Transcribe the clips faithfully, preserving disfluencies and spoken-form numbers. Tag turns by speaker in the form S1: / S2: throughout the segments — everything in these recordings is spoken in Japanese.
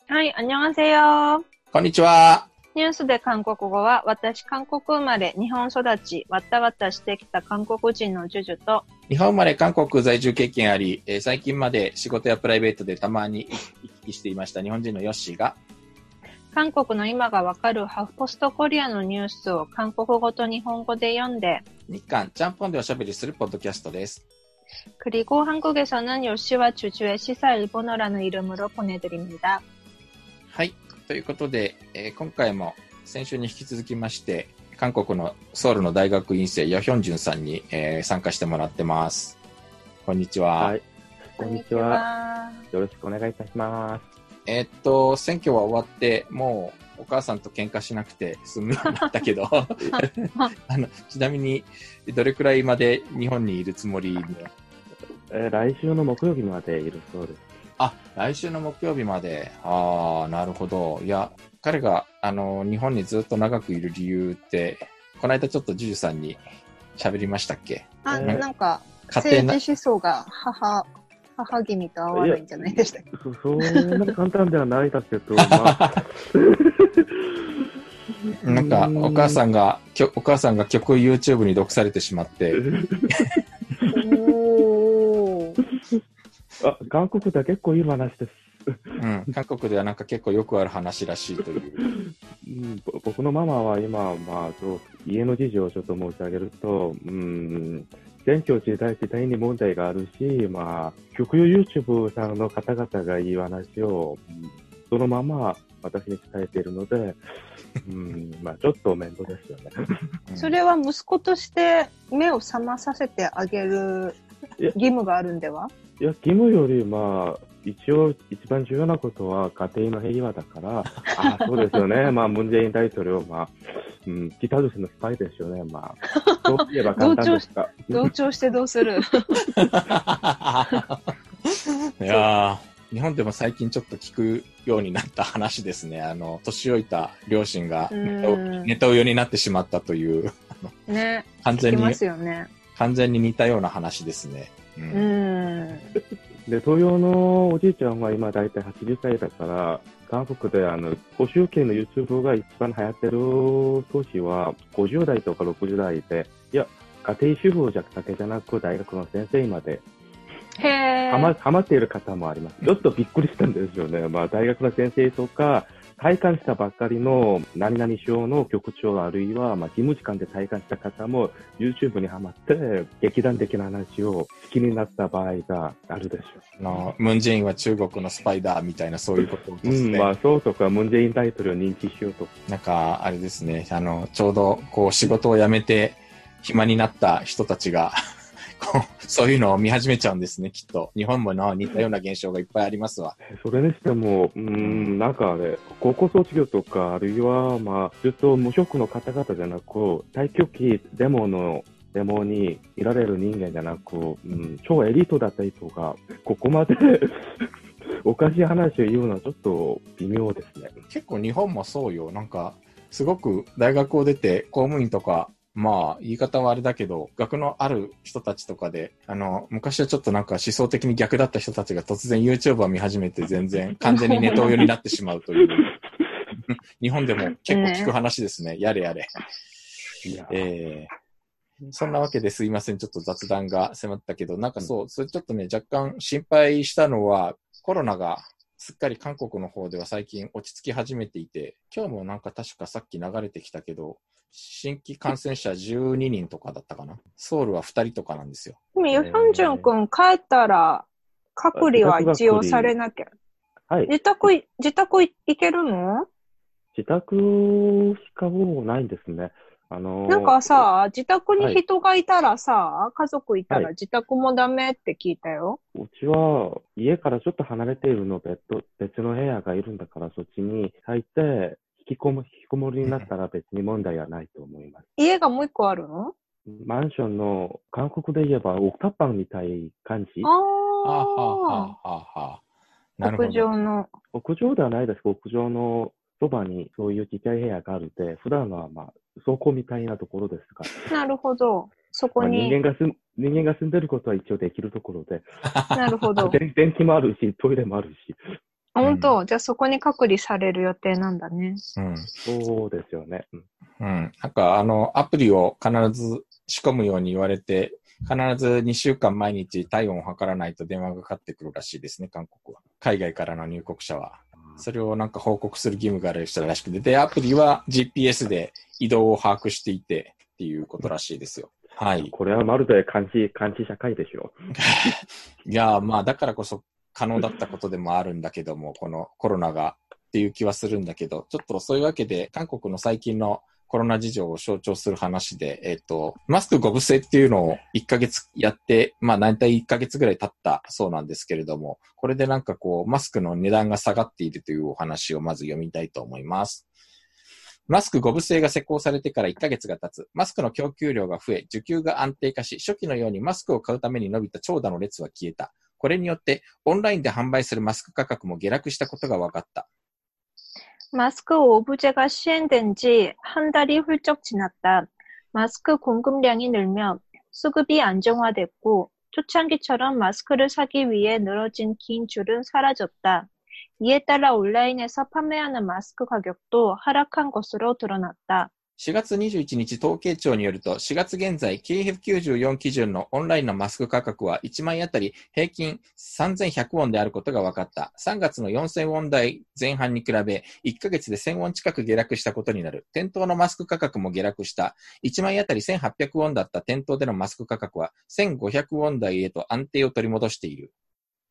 S1: はい、안녕하세요。
S2: こんにちは。
S1: ニュースで韓国語は、私、韓国生まれ、日本育ち、わったわったしてきた韓国人のジュジュと、
S2: 日本生まれ韓国在住経験あり、えー最近まで仕事やプライベートでたまに行き来していました日本人のヨッシーが、
S1: 韓国の今がわかるハフポストコリアのニュースを韓国語と日本語で読んで、
S2: 日韓ちゃんぽんでおしゃべりするポッドキャストです。
S1: 그리고 한국에서는 요시와 주주의 시사 일본어라는 이름으로 보내드립니다.
S2: はい。ということで、えー今回も先週に引き続きまして、韓国のソウルの大学院生、ヨヒョンジュンさんに、えー参加してもらってます。こんにちは。
S3: はい。こんにちは。よろしくお願いいたします。
S2: えーっと、選挙は終わって、もうお母さんと喧嘩しなくて済むようになったけど、あの、ちなみに、どれくらいまで日本にいるつもりで？
S3: えー来週の木曜日までいるそうです。
S2: あ、来週の木曜日まで。ああ、なるほど。いや、彼が、あの、日本にずっと長くいる理由って、この間ちょっとジュジュさんに喋りましたっけ？
S1: あ、
S3: えー
S1: なんか、
S2: 家庭な
S1: 政治思想が母、母君と合わないんじゃないでしたっけ？
S3: そそんな簡単ではないだけど、まあ、
S2: なんか、お母さんが、きょお母さんが曲を YouTube に読されてしまって、
S1: おー。
S3: あ、韓国では結構いい話です。
S2: うん、韓国ではなんか結構よくある話らしいという。
S3: うんぼ僕のママは今、まあ、そう家の事情をちょっと申し上げると、うん、選挙時代時代に問題があるし、まあ、極右 YouTube さんの方々がいい話を、うんそのまま私に伝えているので、うんまあ、ちょっと面倒ですよね。
S2: うん
S1: それは息子として目を覚まさせてあげる
S3: いや
S1: 義務があるんでは？
S3: いや、義務より、まあ、一応、一番重要なことは家庭の平和だから、あそうですよね。まあ、ムンジェイン大統領、まあ、うん、北朝鮮のスパイですよね。まあ、そう言えば簡単ですか。
S1: 同調してどうする？
S2: いやー、日本でも最近ちょっと聞くようになった話ですね。あの、年老いた両親がネタを
S1: うん
S2: ネタ親になってしまったという、
S1: ね、
S2: 完全に
S1: 聞きま、すよね。
S2: 完全に似たような話ですね。う。
S1: うんん。
S3: で、東洋のおじいちゃんは今大体はちじゅっさいだから、韓国であの、保守系の YouTube が一番流行ってる年はごじゅう代とかろくじゅう代で、いや、家庭主婦だけじゃなく大学の先生まで
S1: へ
S3: ハマ、
S1: ー。
S3: ハマっている方もあります。ちょっとびっくりしたんですよね。まあ、大学の先生とか、退官したばっかりの何々省の局長あるいは、まあ、事務次官で退官した方も YouTube にハマって劇団的な話を好きになった場合があるでしょ
S2: あの、ムンジェインは中国のスパイダーみたいなそういうことを
S3: う。うん、
S2: 突然、
S3: まあ、そうとか、ムンジェイン大統領を認知しようとか。
S2: なんか、あれですね、あの、ちょうど、こう、仕事を辞めて、暇になった人たちが、こう、そういうのを見始めちゃうんですね、きっと。日本もの似たような現象がいっぱいありますわ。
S3: それにしても、うーん、なんかあれ、高校卒業とか、あるいは、まあ、ずっと無職の方々じゃなく、大挙期デモの、デモにいられる人間じゃなく、うん、超エリートだった人が、ここまでおかしい話を言うのはちょっと微妙ですね。
S2: 結構日本もそうよ。なんか、すごく大学を出て公務員とか、まあ、言い方はあれだけど、学のある人たちとかで、あの、昔はちょっとなんか思想的に逆だった人たちが突然 YouTuber を見始めて全然完全にネトウヨになってしまうという。日本でも結構聞く話ですね。やれやれ。
S3: いや、
S2: えー、そんなわけですいません。ちょっと雑談が迫ったけど、なんかそう、それちょっとね、若干心配したのは、コロナがすっかり韓国の方では最近落ち着き始めていて、今日もなんか確かさっき流れてきたけど、新規感染者じゅうににんとかだったかな。ソウルはふたりとかなんですよ。
S1: でも、ヨヒョンジュン君帰ったら、隔離は一応されなきゃ。
S3: はい。
S1: 自宅い、自宅い行けるの？
S3: 自宅しかもうないんですね。あのー
S1: なんかさ、自宅に人がいたらさ、家族いたら
S3: はい
S1: 自宅もダメって聞いたよ。
S3: うちは家からちょっと離れているので、別別の部屋がいるんだから、そっちに入って、引きこも、引きこもりになったら別に問題はないと思います。
S1: 家がもう一個あるの？
S3: マンションの、韓国で言えば、オクタパンみたい感じ。
S2: はあ、はあ、は
S1: あ
S2: あ、はあ、はあ。な
S1: あ、
S2: るほど。
S1: 屋上の。
S3: 屋上ではないです。屋上のそばにそういうちっちゃい部屋があるで、普段はまあ、倉庫みたいなところですが、
S1: なるほど。そこ
S3: まあ、人
S1: に。
S3: 間が住ん、人間が住んでることは一応できるところで、
S1: なるほど。
S3: 電電気もあるし、トイレもあるし、
S1: あ、本当、じゃあそこに隔離される予定なんだね。
S2: うん。
S3: そうですよね。うん。
S2: うん。なんか、あの、アプリを必ず仕込むように言われて、必ずにしゅうかん毎日体温を測らないと電話がかかってくるらしいですね、韓国は。海外からの入国者は。それをなんか報告する義務がある人らしくて、で、アプリは ジーピーエス で移動を把握していてっていうことらしいですよ。はい。
S3: これはまるで監視、監視社会でしょ。
S2: いや、まあ、だからこそ可能だったことでもあるんだけども、このコロナがっていう気はするんだけど、ちょっとそういうわけで、韓国の最近のコロナ事情を象徴する話で、えっと、マスクごぶ制っていうのをいっかげつやって、まあ大体いっかげつぐらい経ったそうなんですけれども、これでなんかこう、マスクの値段が下がっているというお話をまず読みたいと思います。マスクごぶ制が施行されてからいっかげつが経つ。マスクの供給量が増え、需給が安定化し、初期のようにマスクを買うために伸びた長蛇の列は消えた。これによって、オンラインで販売するマスク価格も下落したことが分かった。
S1: 마스크 오부제가 시행된 지 한 달이 훌쩍 지났다. 마스크 공급량이 늘며 수급이 안정화됐고 초창기처럼 마스크를 사기 위해 늘어진 긴 줄은 사라졌다. 이에 따라 온라인에서 판매하는 마스크 가격도 하락한 것으로 드러났다.
S2: しがつにじゅういちにち統計庁によると、しがつ現在 ケーエフきゅうじゅうよん 基準のオンラインのマスク価格はいちまいあたり平均さんぜんひゃくウォンであることが分かった。さんがつのよんせんウォン台前半に比べ、いっかげつでせんウォン近く下落したことになる。店頭のマスク価格も下落した。いちまいあたりせんはっぴゃくウォンだった店頭でのマスク価格はせんごひゃくウォン台へと安定を取り戻している。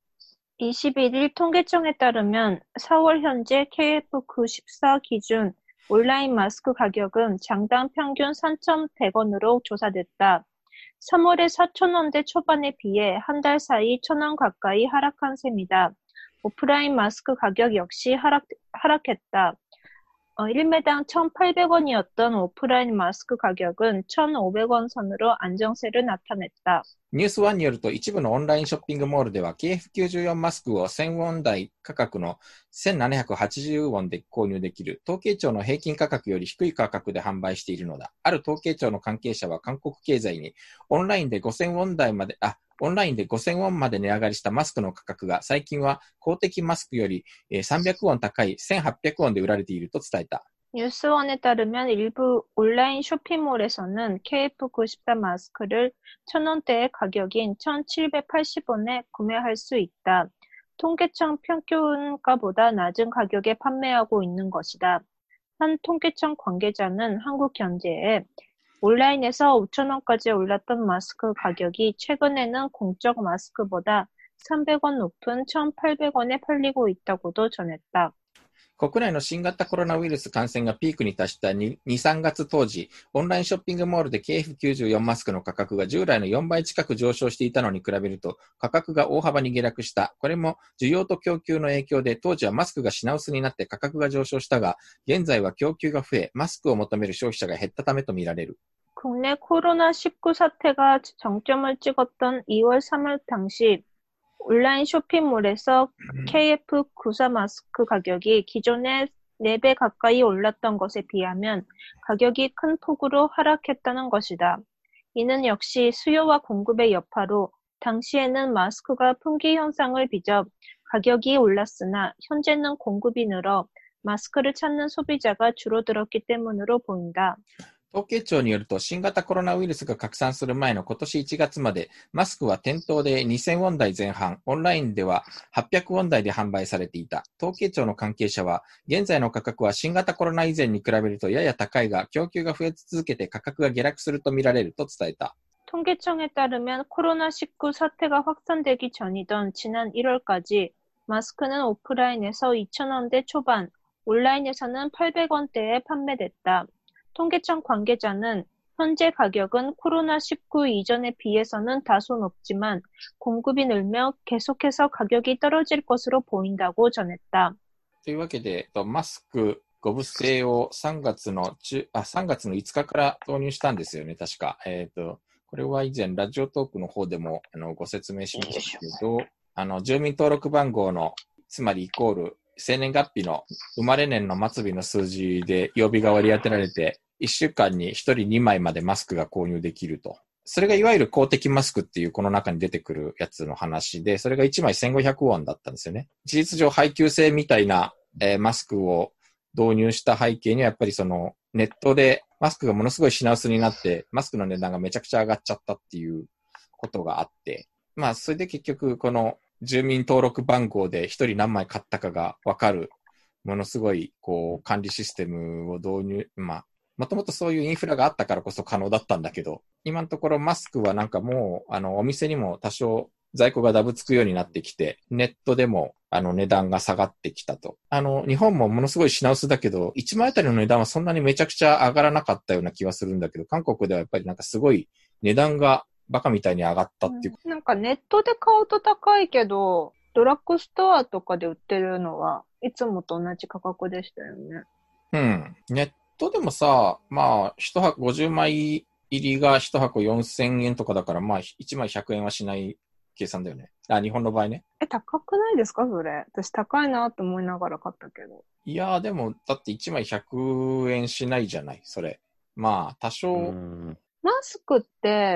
S1: 이십일 일 통계청에 따르면 사월 현재 케이에프 구십사 기준 온라인 마스크 가격은 장당 평균 삼천백 원으로 조사됐다. 삼월에 사천 원대 초반에 비해 한 달 사이 천 원 가까이 하락한 셈이다. 오프라인 마스크 가격 역시 하락, 하락했다. 어, 일 매당 천팔백 원이었던 오프라인 마스크 가격은 천오백 원 선으로 안정세를 나타냈다.
S2: ニュースワンによると、一部のオンラインショッピングモールでは ケーエフきゅうじゅうよん マスクをせんウォン台価格のせんななひゃくはちじゅうウォンで購入できる。統計庁の平均価格より低い価格で販売しているのだ。ある統計庁の関係者は韓国経済にオンラインでごせんウォン台まで、あ、オンラインでごせんウォンまで値上がりしたマスクの価格が最近は公的マスクよりさんびゃくウォン高いせんはっぴゃくウォンで売られていると伝えた。
S1: 뉴스원에 따르면 일부 온라인 쇼핑몰에서는 케이에프 구십사 마스크를 천 원대의 가격인 천칠백팔십 원에 구매할 수 있다. 통계청 평균가보다 낮은 가격에 판매하고 있는 것이다. 한 통계청 관계자는 한국경제에 온라인에서 오천 원까지 올랐던 마스크 가격이 최근에는 공적 마스크보다 삼백 원 높은 천팔백 원에 팔리고 있다고도 전했다.
S2: 国内の新型コロナウイルス感染がピークに達したに、さんがつ当時、オンラインショッピングモールで ケーエフきゅうじゅうよん マスクの価格が従来のよんばい近く上昇していたのに比べると、価格が大幅に下落した。これも需要と供給の影響で、当時はマスクが品薄になって価格が上昇したが、現在は供給が増え、マスクを求める消費者が減ったためとみられる。
S1: 국내 코로나 십구 사태가 정점을 찍었던 이월 삼일 당시 온라인 쇼핑몰에서 케이에프 구십사 마스크 가격이 기존의 네 배 가까이 올랐던 것에 비하면 가격이 큰 폭으로 하락했다는 것이다. 이는 역시 수요와 공급의 여파로 당시에는 마스크가 품귀 현상을 빚어 가격이 올랐으나 현재는 공급이 늘어 마스크를 찾는 소비자가 줄어들었기 때문으로 보인다.
S2: 統計庁によると、新型コロナウイルスが拡散する前の今年いちがつまで、マスクは店頭でにせんウォン台前半、オンラインでははっぴゃくウォン台で販売されていた。統計庁の関係者は、現在の価格は新型コロナ以前に比べるとやや高いが、供給が増え続けて価格が下落するとみられると伝えた。
S1: 통계청에 따르면 코로나 십구 사태가 확산되기 전이던 지난 일월까지 마스크는 오프라인에서 이천 원대 초반, 온라인에서는 팔백 원대에 판매됐다. 통계청 관계자는 현재 가격은 코로나 십구 이전에 비해서는 다소 높지만 공급이 늘며 계속해서 가격이 떨어질 것으로 보인다고 전했다.
S2: というわけで、マスクごぶ制をさんがつの中、あ、さんがつのいつかから導入したんですよね、確か。えっと、これは以前ラジオトークの方でもあのご説明しましたけど、あの住民登録番号のつまりイコール生年月日の生まれ年の末日の数字で曜日が割り当てられて、いっしゅうかんにひとりにまいまでマスクが購入できると。 それがいわゆる公的マスクっていうこの中に出てくるやつの話で、それがいちまいせんごひゃくウォンだったんですよね。事実上配給制みたいな、えー、マスクを導入した背景にはやっぱりそのネットでマスクがものすごい品薄になって、マスクの値段がめちゃくちゃ上がっちゃったっていうことがあって、まあそれで結局この住民登録番号で一人何枚買ったかがわかるものすごいこう管理システムを導入、まあもともとそういうインフラがあったからこそ可能だったんだけど、今のところマスクはなんかもうあのお店にも多少在庫がダブつくようになってきて、ネットでもあの値段が下がってきたと。あの日本もものすごい品薄だけど、いちまいあたりの値段はそんなにめちゃくちゃ上がらなかったような気はするんだけど、韓国ではやっぱりなんかすごい値段がバカみたいに上がったっていう、
S1: うん、なんかネットで買うと高いけど、ドラッグストアとかで売ってるのはいつもと同じ価格でしたよね。
S2: うん。ネットでもさ、まあ、一箱ごじゅうまい入りが一箱よんせんえんとかだから、まあ、いちまいひゃくえんはしない計算だよね。あ、日本の場合ね。
S1: え、高くないですかそれ。私高いなと思いながら買ったけど。
S2: いやー、でも、だっていちまいひゃくえんしないじゃない、それ。まあ、多少。
S3: うん、
S1: マスクって、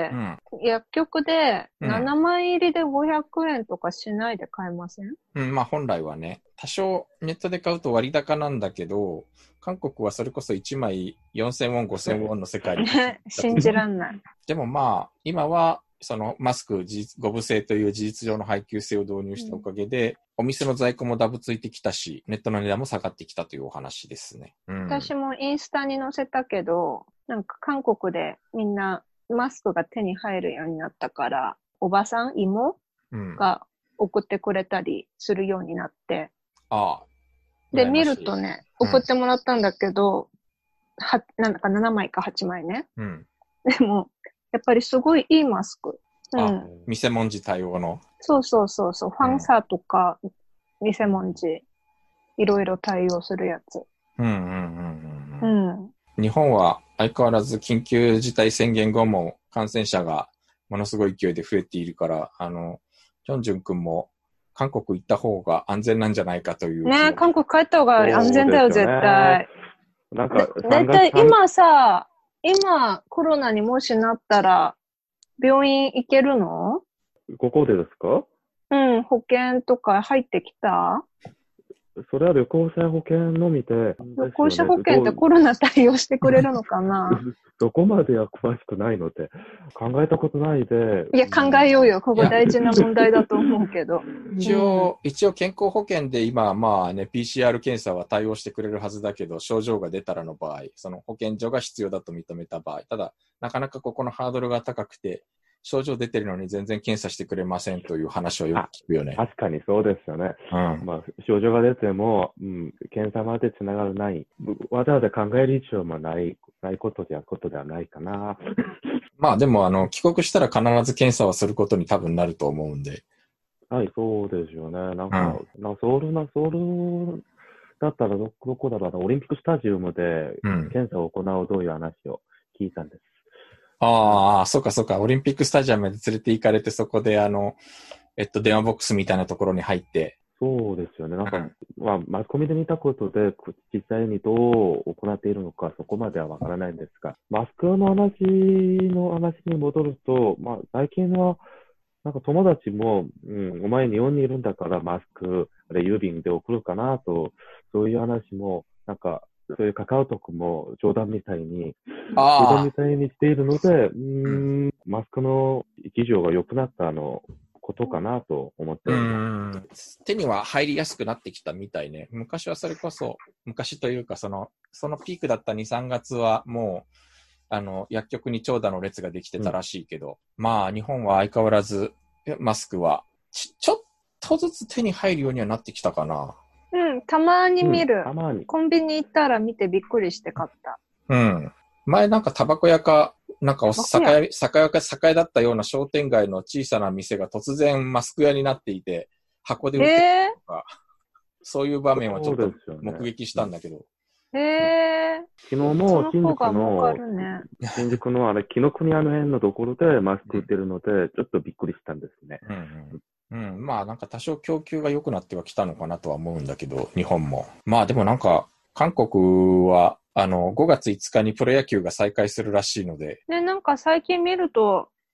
S1: うん、薬局でななまい入りでごひゃくえんとかしないで買えません？
S2: うん、まあ本来はね、多少ネットで買うと割高なんだけど、韓国はそれこそいちまいよんせんウォン、ごせんウォンの世界に。
S1: 信じらんない。
S2: でもまあ、今は、そのマスクごぶ制という事実上の配給制を導入したおかげで、うん、お店の在庫もダブついてきたし、ネットの値段も下がってきたというお話ですね。うん、
S1: 私もインスタに載せたけど、なんか韓国でみんなマスクが手に入るようになったから、おばさん、妹が送ってくれたりするようになって。
S2: うん、ああ。
S1: で、見るとね、送ってもらったんだけど、うん、は、なんだかななまいかはちまいね。
S2: うん。
S1: でも、やっぱりすごいいいマスク。
S2: うん、あ、見せ文字対応の。
S1: そうそうそうそう。ファンサーとか、見せ文字、いろいろ対応するやつ。
S2: うんうんうんうん。うん、日本は相変わらず緊急事態宣言後も感染者がものすごい勢いで増えているから、あの、ヒョンジュン君も韓国行った方が安全なんじゃないかという。
S1: ねえ、韓国帰った方が安全だよ、絶対。
S3: なんか、
S1: だいたい今さ、今コロナにもしなったら病院行けるの？
S3: ここでですか？
S1: うん、保険とか入ってきた？
S3: それは旅行者保険のみで、ね。
S1: 旅行者保険ってコロナ対応してくれるのかな？
S3: そこまでは詳しくないので、考えたことないで。
S1: いや、考えようよ。ここ大事な問題だと思うけど。
S2: 一応、うん、一応健康保険で今、まあね、ピーシーアール 検査は対応してくれるはずだけど、症状が出たらの場合、その保健所が必要だと認めた場合、ただ、なかなかここのハードルが高くて、症状出てるのに全然検査してくれませんという話をよく聞くよね。
S3: 確かにそうですよね。うん、まあ、症状が出ても、うん、検査までつながらない。わざわざ考える必要もない、ないことではことではないかな。
S2: まあでも、あの、帰国したら必ず検査はすることに多分なると思うんで。
S3: はい、そうですよね。なんか、うん、なソウルな、ソウルだったらど、どこだろうな、オリンピックスタジアムで検査を行うという話を聞いたんです。
S2: ああ、そうかそうか。オリンピックスタジアムで連れて行かれて、そこであの、えっと、電話ボックスみたいなところに入って。
S3: そうですよね。なんか、うん、まあ、マスコミで見たことで、実際にどう行っているのか、そこまではわからないんですが、マスクの話の話に戻ると、まあ、最近は、なんか友達も、うん、お前日本にいるんだからマスク、あれ郵便で送るかなと、そういう話も、なんか、そういうカカオトクも冗談みたいに、冗談みたいにしているので、うーん、マスクの事情が良くなったあのことかなと思っております。
S2: 手には入りやすくなってきたみたいね。昔はそれこそ、昔というかその、そのピークだったに、さんがつはもう、あの、薬局に長蛇の列ができてたらしいけど、うん、まあ日本は相変わらずマスクはち、ちょっとずつ手に入るようにはなってきたかな。
S1: うん、たまに見る、
S3: うん、たまに。
S1: コンビニ行ったら見てびっくりして買った。
S2: うん。前なんかタバコ屋か、なんかお酒屋、酒屋か酒屋だったような商店街の小さな店が突然マスク屋になっていて、箱で売ってるとか、えー、そういう場面はちょっと目撃したんだけど。
S1: へえー。
S3: 昨日も新宿の、ね、新宿のあれ、紀ノ国屋の辺のところでマスク売ってるので、うん、ちょっとびっくりしたんですね。
S2: うんうんうん、まあなんか多少供給が良くなってはきたのかなとは思うんだけど、日本も。まあでもなんか、韓国は、あの、ごがついつかにプロ野球が再開するらしいので。
S1: ね、なんか最近見ると、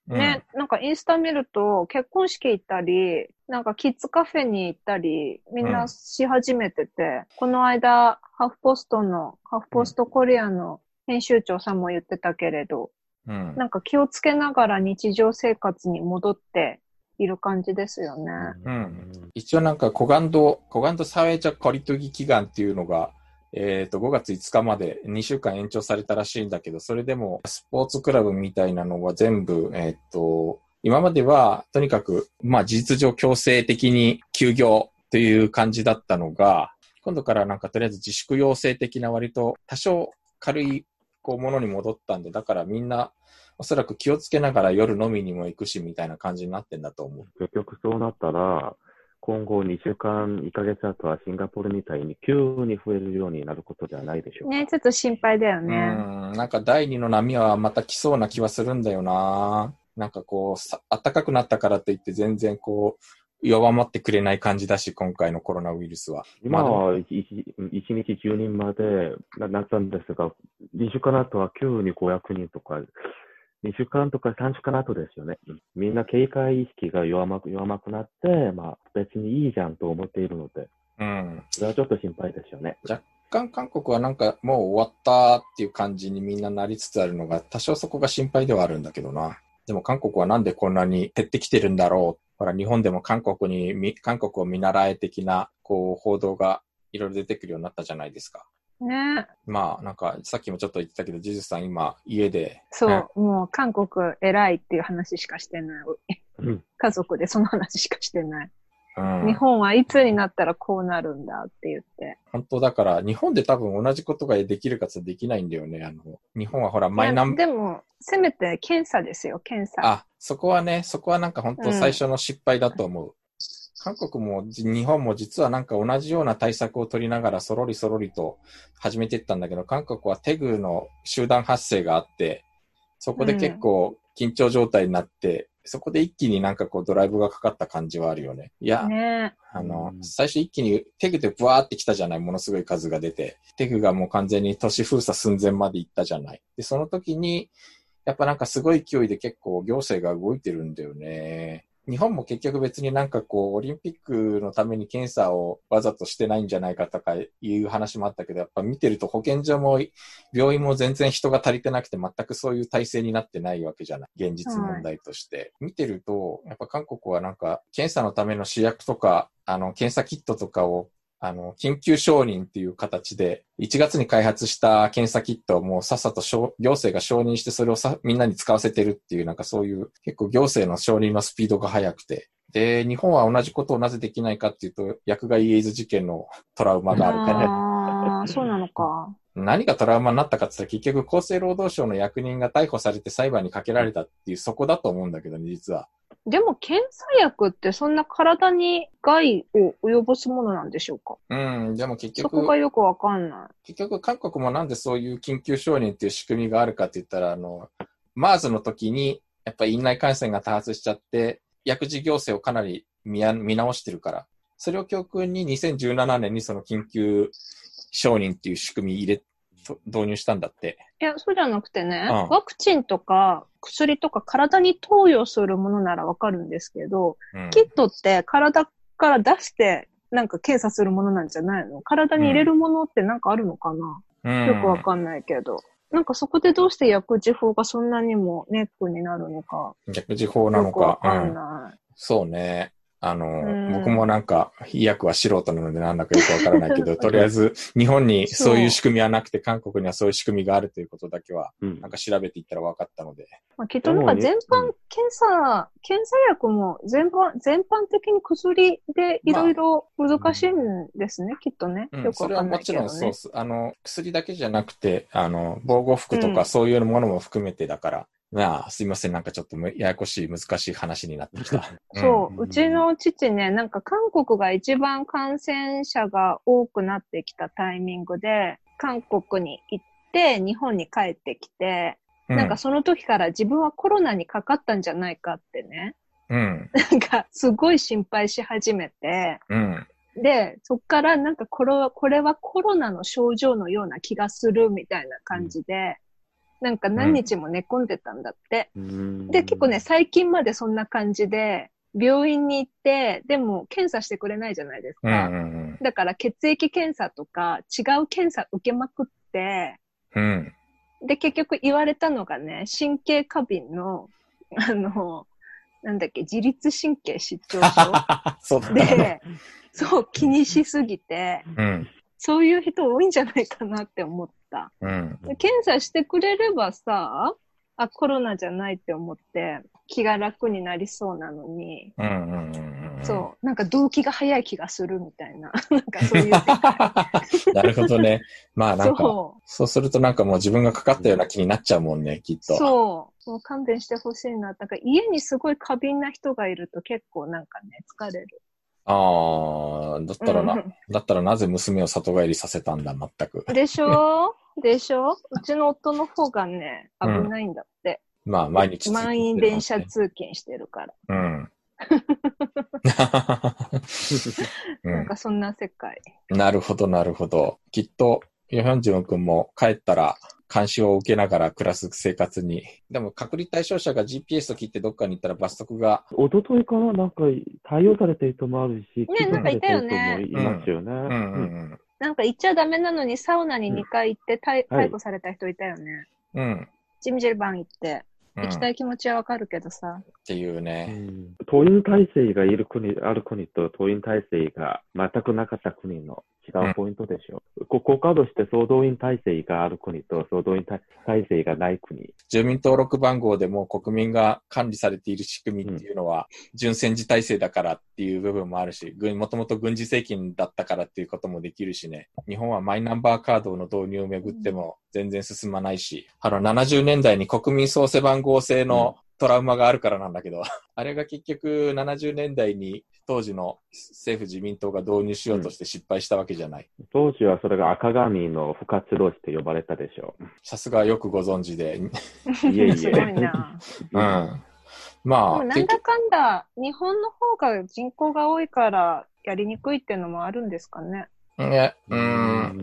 S1: ね、なんかインスタ見ると結婚式行ったり、なんかキッズカフェに行ったり、みんなし始めてて、うん、この間、ハーフポストの、ハーフポストコリアの編集長さんも言ってたけれど、うん、なんか気をつけながら日常生活に戻っている感じですよね。
S2: うん。一応なんかコガンド、コガンドサウェジャコリトギ祈願っていうのが、えっと、ごがついつかまでにしゅうかん延長されたらしいんだけど、それでもスポーツクラブみたいなのは全部、えっと、今まではとにかく、まあ事実上強制的に休業という感じだったのが、今度からなんかとりあえず自粛要請的な割と多少軽いこうものに戻ったんで、だからみんなおそらく気をつけながら夜飲みにも行くしみたいな感じになってんだと思う。
S3: 結局そうなったら、今後にしゅうかん、いっかげつ後はシンガポールみたいに急に増えるようになることではないでしょうか。
S1: ね、ちょっと心配だよね。
S2: うん、なんか第二の波はまた来そうな気はするんだよな。なんかこう、さ暖かくなったからといって全然こう、弱まってくれない感じだし、今回のコロナウイルスは。
S3: 今は一日じゅうにんまでなったんですが、にしゅうかん後は急にごひゃくにんとか、にしゅうかんとかさんしゅうかん後ですよね。みんな警戒意識が弱まく、弱まくなって、まあ別にいいじゃんと思っているので、うん。それはちょっと心配ですよね。
S2: 若干韓国はなんかもう終わったっていう感じにみんななりつつあるのが、多少そこが心配ではあるんだけどな。でも韓国はなんでこんなに減ってきてるんだろう。ほら、日本でも韓国に、韓国を見習え的な、こう、報道がいろいろ出てくるようになったじゃないですか。
S1: ね。
S2: まあ、なんか、さっきもちょっと言ってたけど、ジジさん今、家で。
S1: そう、ね、もう韓国偉いっていう話しかしてない。うん、家族でその話しかしてない。うん、日本はいつになったらこうなるんだって言って。
S2: 本当だから、日本で多分同じことができるかつできないんだよね。あの、日本はほら、マイナン
S1: バー。でも、せめて検査ですよ、検査。
S2: あ、そこはね、そこはなんか本当最初の失敗だと思う。うん、韓国も日本も実はなんか同じような対策を取りながらそろりそろりと始めていったんだけど、韓国はテグの集団発生があって、そこで結構緊張状態になって、うん、そこで一気になんかこうドライブがかかった感じはあるよね。いや、ね、あの、うん、最初一気にテグでブワーって来たじゃない、ものすごい数が出て。テグがもう完全に都市封鎖寸前まで行ったじゃない。で、その時に、やっぱなんかすごい勢いで結構行政が動いてるんだよね。日本も結局別になんかこう、オリンピックのために検査をわざとしてないんじゃないかとかいう話もあったけど、やっぱ見てると保健所も病院も全然人が足りてなくて全くそういう体制になってないわけじゃない。現実問題として。はい、見てると、やっぱ韓国はなんか検査のための試薬とか、あの、検査キットとかをあの、緊急承認っていう形で、いちがつに開発した検査キットをもうさっさと行政が承認してそれをさみんなに使わせてるっていう、なんかそういう結構行政の承認のスピードが速くて。で、日本は同じことをなぜできないかっていうと、薬害エイズ事件のトラウマがあるから。
S1: ああ、そうなのか。
S2: 何がトラウマになったかって言ったら結局厚生労働省の役人が逮捕されて裁判にかけられたっていうそこだと思うんだけどね、実は。
S1: でも検査薬ってそんな体に害を及ぼすものなんでしょうか？
S2: うん、でも結局。
S1: そこがよくわかんない。
S2: 結局韓国もなんでそういう緊急承認っていう仕組みがあるかって言ったら、あの、MERS の時にやっぱり院内感染が多発しちゃって、薬事行政をかなり 見, 見直してるから。それを教訓ににせんじゅうななねんにその緊急承認っていう仕組み入れ、導入したんだって。
S1: いや、そうじゃなくてね、うん、ワクチンとか薬とか体に投与するものならわかるんですけど、うん、キットって体から出してなんか検査するものなんじゃないの？体に入れるものってなんかあるのかな、うん、よくわかんないけど。なんかそこでどうして薬事法がそんなにもネックになるのか。
S2: 薬事法なのか。
S1: よくわかんない。
S2: うん、そうね。あの、僕もなんか、医薬は素人なのでなんだかよくわからないけど、とりあえず日本にそういう仕組みはなくて、韓国にはそういう仕組みがあるということだけは、なんか調べていったら分かったので。
S1: まあ、きっとなんか全般検査、検査薬も全般、全般的に薬でいろいろ難しいんですね、まあ、きっとね。よくわかんないけどね。
S2: うん、それはもちろんそうです。あの、薬だけじゃなくて、あの、防護服とかそういうものも含めてだから、うん、まあ、すいません。なんかちょっとややこしい、難しい話になってきた。
S1: そう、うちの父ね、なんか韓国が一番感染者が多くなってきたタイミングで、韓国に行って、日本に帰ってきて、うん、なんかその時から自分はコロナにかかったんじゃないかってね。うん。なんかすごい心配し始めて、うん。で、そっからなんかこれは、これはコロナの症状のような気がするみたいな感じで、 なんか何日も寝込んでたんだって。
S3: うん、
S1: で、結構ね、最近までそんな感じで、病院に行って、でも検査してくれないじゃないですか。
S2: うんうんうん、
S1: だから血液検査とか違う検査受けまくって、
S2: うん、
S1: で、結局言われたのがね、神経過敏の、あの、なんだっけ、自律神経失調症
S2: そうだった
S1: で、
S2: ね。
S1: そう、気にしすぎて、
S2: うん、
S1: そういう人多いんじゃないかなって思った。
S2: うん、
S1: 検査してくれればさ、あ、コロナじゃないって思って気が楽になりそうなのに、
S2: うん、うん、うんうん。
S1: そう、なんか動機が早い気がするみたいな、なんかそういう世界。
S2: なるほどね。まあなんか、
S1: そう。
S2: そうするとなんかもう自分がかかったような気になっちゃうもんね、きっと。
S1: そう。もう勘弁してほしいな。だから家にすごい過敏な人がいると結構なんかね、疲れる。
S2: ああ、だったらな、
S1: うん
S2: だったらなぜ娘を里帰りさせたんだ、全く。
S1: でしょでしょうちの夫の方がね、危
S2: うん。
S1: ないんだって。
S2: まあ、毎日通
S1: 満
S2: 勤し
S1: 員電車
S2: てるもんね。
S1: 通勤してるから。
S2: うん。う
S1: なん
S2: ん。
S1: かそんな世界。
S2: なるほど、なるほど。きっと、ヨヒョンジュン君も帰ったら、監視を受けながら暮らす生活に。でも、隔離対象者が ジーピーエス と切ってどっかに行ったら罰則が。
S3: 一昨日かな、なんか対応されてる人もあるし、
S1: ね、なんかいたよね。
S3: いますよね。
S2: うん、うん、うん。
S1: なんか行っちゃダメなのにサウナににかい行って逮、
S3: うんはい
S1: 逮捕された人いたよね。
S2: うん。
S1: ジムジェルバン行って。
S2: うん、
S1: 行きたい気持ちはわかるけどさ。
S2: っていうね。
S3: うん、党員体制がいる国、ある国と党員体制が全くなかった国の違うポイントでしょう。うん、国家として総動員体制がある国と総動員体制がない国。
S2: 住民登録番号でも国民が管理されている仕組みっていうのは、準戦時体制だからっていう部分もあるし、もともと軍事政権だったからっていうこともできるしね。日本はマイナンバーカードの導入をめぐっても全然進まないし、あのななじゅうねんだいに国民総背番号制のトラウマがあるからなんだけど、あれが結局ななじゅうねんだいに当時の政府自民党が導入しようとして失敗したわけじゃない。
S3: うん、当時はそれが赤紙の不活動して呼ばれたでしょう。
S2: さすがよくご存知で。
S3: いえいえ。
S1: すごいな。
S2: うん。まあ。
S1: でもなんだかんだ、日本の方が人口が多いからやりにくいっていうのもあるんですかね。
S2: いや、うん。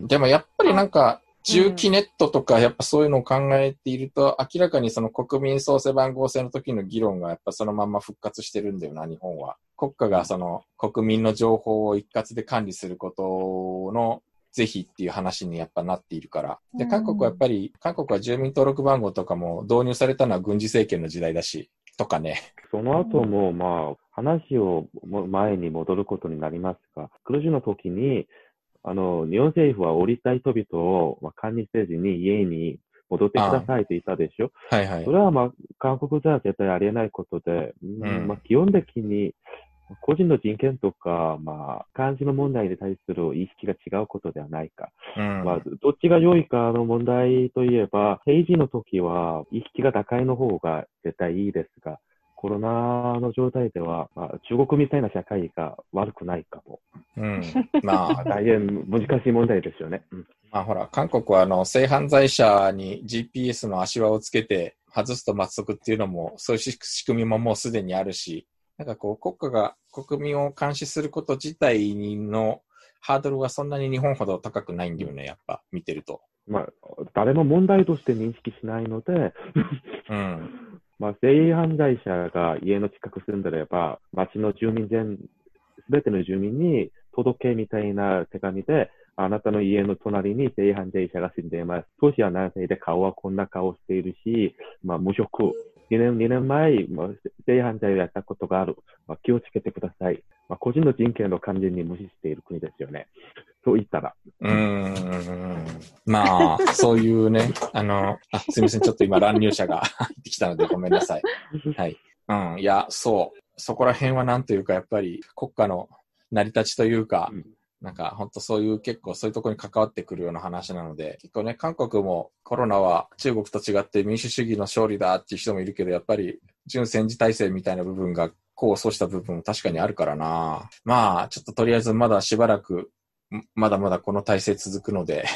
S2: でもやっぱりなんか、重機ネットとかやっぱそういうのを考えていると、明らかにその国民総背番号制の時の議論がやっぱそのまま復活してるんだよな、日本は。国家がその国民の情報を一括で管理することの是非っていう話にやっぱなっているから。で、韓国はやっぱり、韓国は住民登録番号とかも導入されたのは軍事政権の時代だし、とかね。
S3: その後もまあ、話を前に戻ることになりますが、クルジの時に、あの、日本政府は降りたい人々を、まあ、管理せずに家に戻ってくださいと言ったでしょ。
S2: はいはい。
S3: それはまあ、韓国じゃ絶対ありえないことで、うん、まあ、基本的に個人の人権とか、まあ、監視の問題に対する意識が違うことではないか。うん、まあ、どっちが良いかの問題といえば、平時の時は意識が高いの方が絶対いいですが、コロナの状態では、まあ、中国みたいな社会が悪くないかも。
S2: うん。まあ、
S3: 大変難しい問題ですよね。うん、
S2: まあほら、韓国はあの、性犯罪者に ジーピーエス の足輪をつけて外すと罰則っていうのも、そういう仕組みももうすでにあるし、なんかこう、国家が国民を監視すること自体のハードルはそんなに日本ほど高くないんだよね、やっぱ、見てると。
S3: まあ、誰も問題として認識しないので、
S2: うん。
S3: まあ、性犯罪者が家の近く住んでれば、町の住民全、すべての住民に届けみたいな手紙で、あなたの家の隣に性犯罪者が住んでいます。年は何歳で顔はこんな顔しているし、まあ、無職。にねん、にねんまえ、まあ、性犯罪をやったことがある。まあ、気をつけてください。まあ、個人の人権を完全に無視している国ですよね。と言ったら。
S2: うーん。まあ、そういうね、あの、あ、すみません。ちょっと今乱入者が入ってきたのでごめんなさい。はい。うん。いや、そう。そこら辺はなんというか、やっぱり国家の成り立ちというか、うん、なんか本当そういう結構そういうところに関わってくるような話なので、結構ね、韓国もコロナは中国と違って民主主義の勝利だっていう人もいるけど、やっぱり準戦時体制みたいな部分が功を奏した部分も確かにあるからな。まあ、ちょっととりあえずまだしばらく、まだまだこの体制続くので。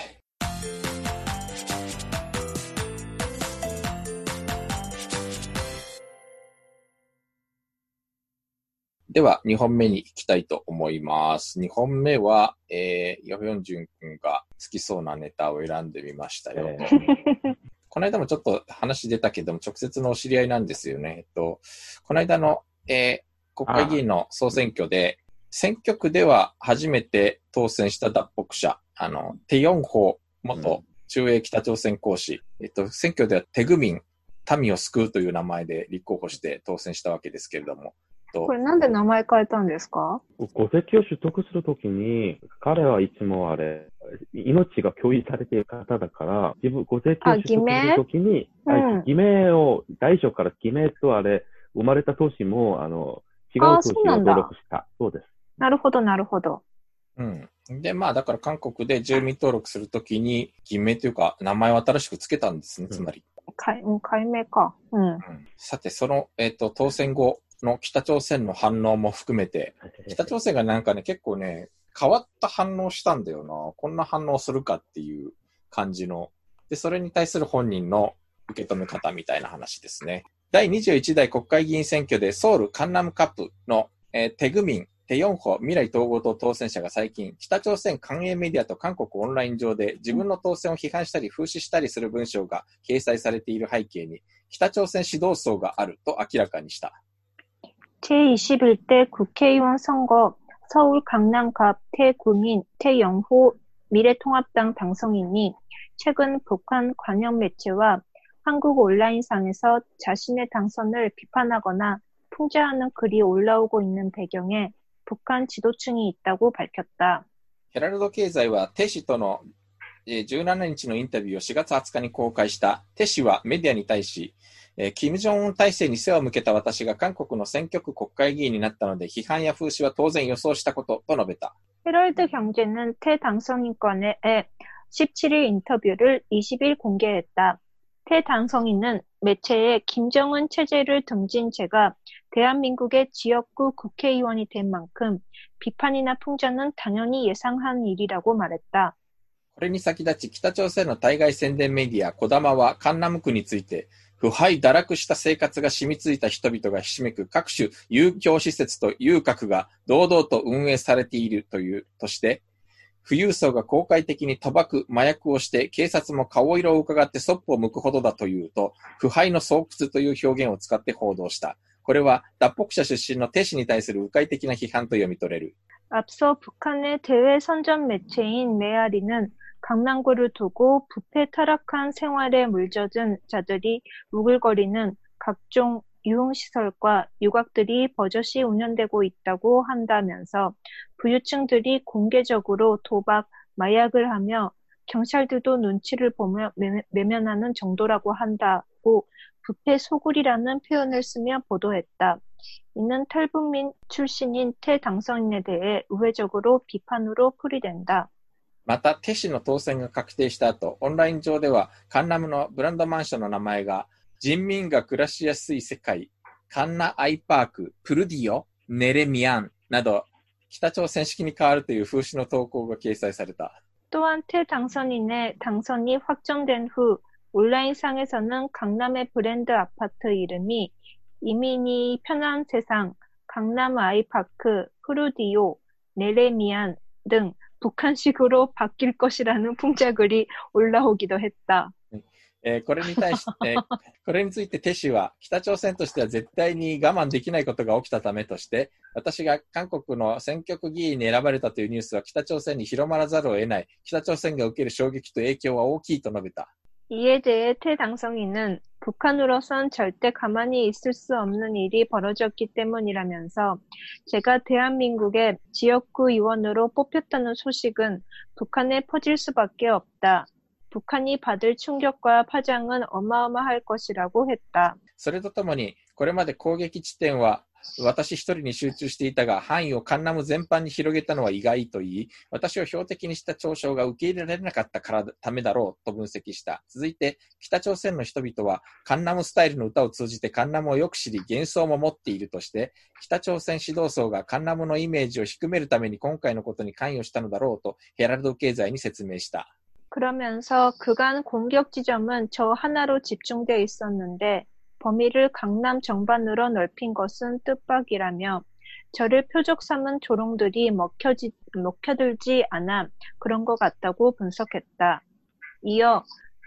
S2: では、にほんめに行きたいと思います。にほんめは、えー、ヨヒョンジュン君が好きそうなネタを選んでみましたよと。 この間もちょっと話出たけども、直接のお知り合いなんですよね。えっと、この間の、えー、国会議員の総選挙で、選挙区では初めて当選した脱北者、あの、テヨンホ元駐英北朝鮮公使、えっと、選挙ではテグミン、民を救うという名前で立候補して当選したわけですけれども。
S1: これなんで名前変えたんですか？
S3: 戸籍を取得するときに、彼はいつもあれ、命が共有されている方だから、自分、戸籍を取得するときに、
S1: うん、
S3: 偽名を、大初から偽名とあれ、生まれた年も、あの、違う年を登録した。そうです。
S1: なるほど、なるほど。
S2: うん。で、まあ、だから韓国で住民登録するときに、偽名というか、名前を新しくつけたんですね、つまり。
S1: 改、改名か。うん。うん、
S2: さて、その、えっと、当選後の北朝鮮の反応も含めて、北朝鮮がなんかね、結構ね、変わった反応したんだよな。こんな反応するかっていう感じの。で、それに対する本人の受け止め方みたいな話ですね。だいにじゅういち代国会議員選挙でソウルカンナムカップの、えー、テグミン、テヨンホ未来統合党当選者が最近、北朝鮮官営メディアと韓国オンライン上で自分の当選を批判したり風刺したりする文章が掲載されている背景に、北朝鮮指導層があると明らかにした。
S1: 제이십일대 국회의원 선거 서울 강남갑 태구민 태영호 미래통합당 당선인이 최근 북한 관영 매체와 한국 온라인상에서 자신의 당선을 비판하거나 풍자하는 글이 올라오고 있는 배경에 북한 지도층이 있다고 밝혔다.
S2: ヘラルド経済はテ氏とのじゅうしちにちのインタビューをしがつはつかに公開した。テ氏はメディアに対し、キム・ジョンウン体制に背を向けた私が韓国の選挙区国会議員になったので批判や風刺は当然予想したことと述べた。
S1: 헤럴드 경제는 태 당선인과의 십칠일 인터뷰를 이십일 공개했다. 태 당선인은 매체에 김정은 체제를 등진 제가 대한민국의 지역구 국회의원이 된 만큼 비판이나 풍자는 당연히 예상한 일이라고 말했다.
S2: これに先立ち北朝鮮の対外宣伝メディア、コダマはカンナム区について、腐敗堕落した生活が染みついた人々がひしめく各種遊興施設と遊郭が堂々と運営されているというとして、富裕層が公開的に賭博、麻薬をして警察も顔色を伺ってそっぽを向くほどだというと、腐敗の巣窟という表現を使って報道した。これは脱北者出身のテ氏に対する迂回的な批判と読み取れる。
S1: 앞서 북한의 대외 선전 매체인 메아리는 강남구를 두고 부패 타락한 생활에 물젖은 자들이 우글거리는 각종 유흥시설과 유곽들이 버젓이 운영되고 있다고 한다면서 부유층들이 공개적으로 도박, 마약을 하며 경찰들도 눈치를 보며 매면하는 정도라고 한다고 부패 소굴이라는 표현을 쓰며 보도했다. 이는 탈북민 출신인 태 당선인에 대해 우회적으로 비판으로 풀이된다.
S2: また、テ氏の当選が確定した後、オンライン上では、カンナムのブランドマンションの名前が、人民が暮らしやすい世界、カンナアイパーク、プルディオ、ネレミアンなど、北朝鮮式に変わるという風刺の投稿が掲載された。
S1: 또한 태 당선인의 당선이 확정된 후 온라인상에서는 강남의 브랜드 아파트 이름이 이민이 편한 세상, 강남 아이파크, 프루디오, 네레미안 등 북한식으로 바뀔 것이라는 풍자글이 올라오기도 했다.
S2: えー、これに対し、えー、これについてテ氏は北朝鮮としては絶対に我慢できないことが起きたためとして、私が韓国の選挙区議員に選ばれたというニュースは北朝鮮に広まらざるを得ない。北朝鮮が受ける衝撃と影響は大きいと述べた。
S1: 이에 대해 태 당선인은 북한으로선 절대 가만히 있을 수 없는 일이 벌어졌기 때문이라면서 제가 대한민국의 지역구 의원으로 뽑혔다는 소식은 북한에 퍼질 수밖에 없다. 북한이 받을 충격과 파장은 어마어마할 것이라고 했다.
S2: それとともに、これまで攻撃地点は私一人に集中していたが、範囲をカンナム全般に広げたのは意外と言い、私を標的にした嘲笑が受け入れられなかったからためだろうと分析した。続いて、北朝鮮の人々はカンナムスタイルの歌を通じてカンナムをよく知り、幻想も持っているとして、北朝鮮指導層がカンナムのイメージを低めるために今回のことに関与したのだろうとヘラルド経済に説明した。
S1: 그러면서 그간 공격 지점은 저 하나로 집중되어 있었는데 범위를 강남 정반으로 넓힌 것은 뜻밖이라며 저를 표적 삼은 조롱들이 먹혀지, 먹혀들지 않아 그런 것 같다고 분석했다. 이어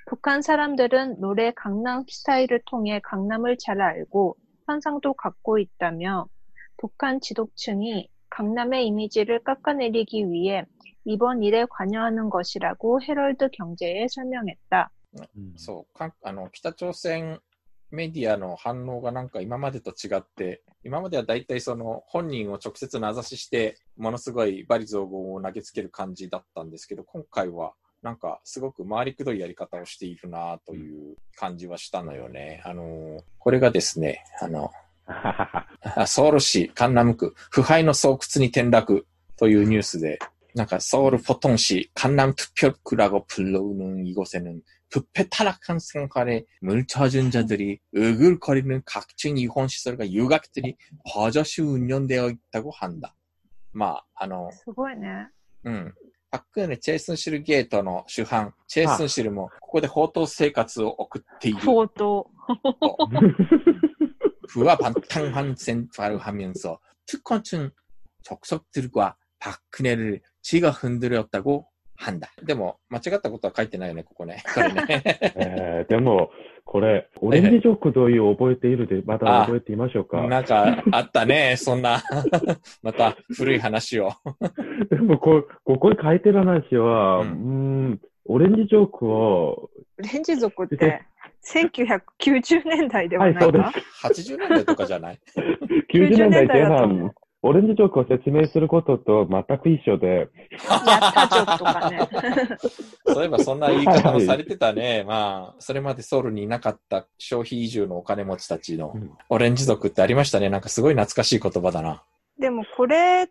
S1: 북한 사람들은 노래 강남 스타일을 통해 강남을 잘 알고 환상도 갖고 있다며 북한 지도층이 강남의 이미지를 깎아내리기 위해 이번 일에 관여하는 것이라고 헤럴드 경제에 설명했다.
S2: そう、かんあの北朝鮮メディアの反応がなんか今までと違って、今まではだいたいその本人を直接名指しして、ものすごい罵詈雑言を投げつける感じだったんですけど、今回はなんかすごく回りくどいやり方をしているなという感じはしたのよね。あの、これがですね、あの、ソウル市カンナム区、腐敗の巣窟に転落というニュースで、なんか서울 포통시 강남투표구라고 불리는 이곳에는 부패 타락한 생활에 물처준 자들이 으글거리는 각종 이혼시설과 유각들이 버젓이 운영되어 있다고 한다. まあ、あの、
S1: すごいね。
S2: うん。パククンネ・チェイスンシルゲートの主犯、チェイスンシルもここで放蕩生活を送っている。
S1: 放蕩。
S2: 부와 방탕한 생활을 하면서 특권층 적석들과 박근혜를 지가 흔들었다고 한다. でも間違ったことは書いてないよね、ここね。これね。
S3: えー、でも、これ、オレンジジョークという覚えているで、また覚えてみましょうか。
S2: なんかあったね、そんな。また古い話を。
S3: でもこ、ここに書いてる話は、うん、うーん、オレンジジョークを。
S1: オレンジ族って、せんきゅうひゃくきゅうじゅうねんだいではないか、はい、そうです。
S2: はちじゅうねんだいとかじゃない
S3: きゅうじゅうねんだいぜん半。オレンジジョークを説明することと全く一緒で。
S1: やったジョークとかね。
S2: そういえばそんな言い方もされてたね。はい、まあ、それまでソウルにいなかった消費移住のお金持ちたちのオレンジ族ってありましたね。なんかすごい懐かしい言葉だな。
S1: でもこれって、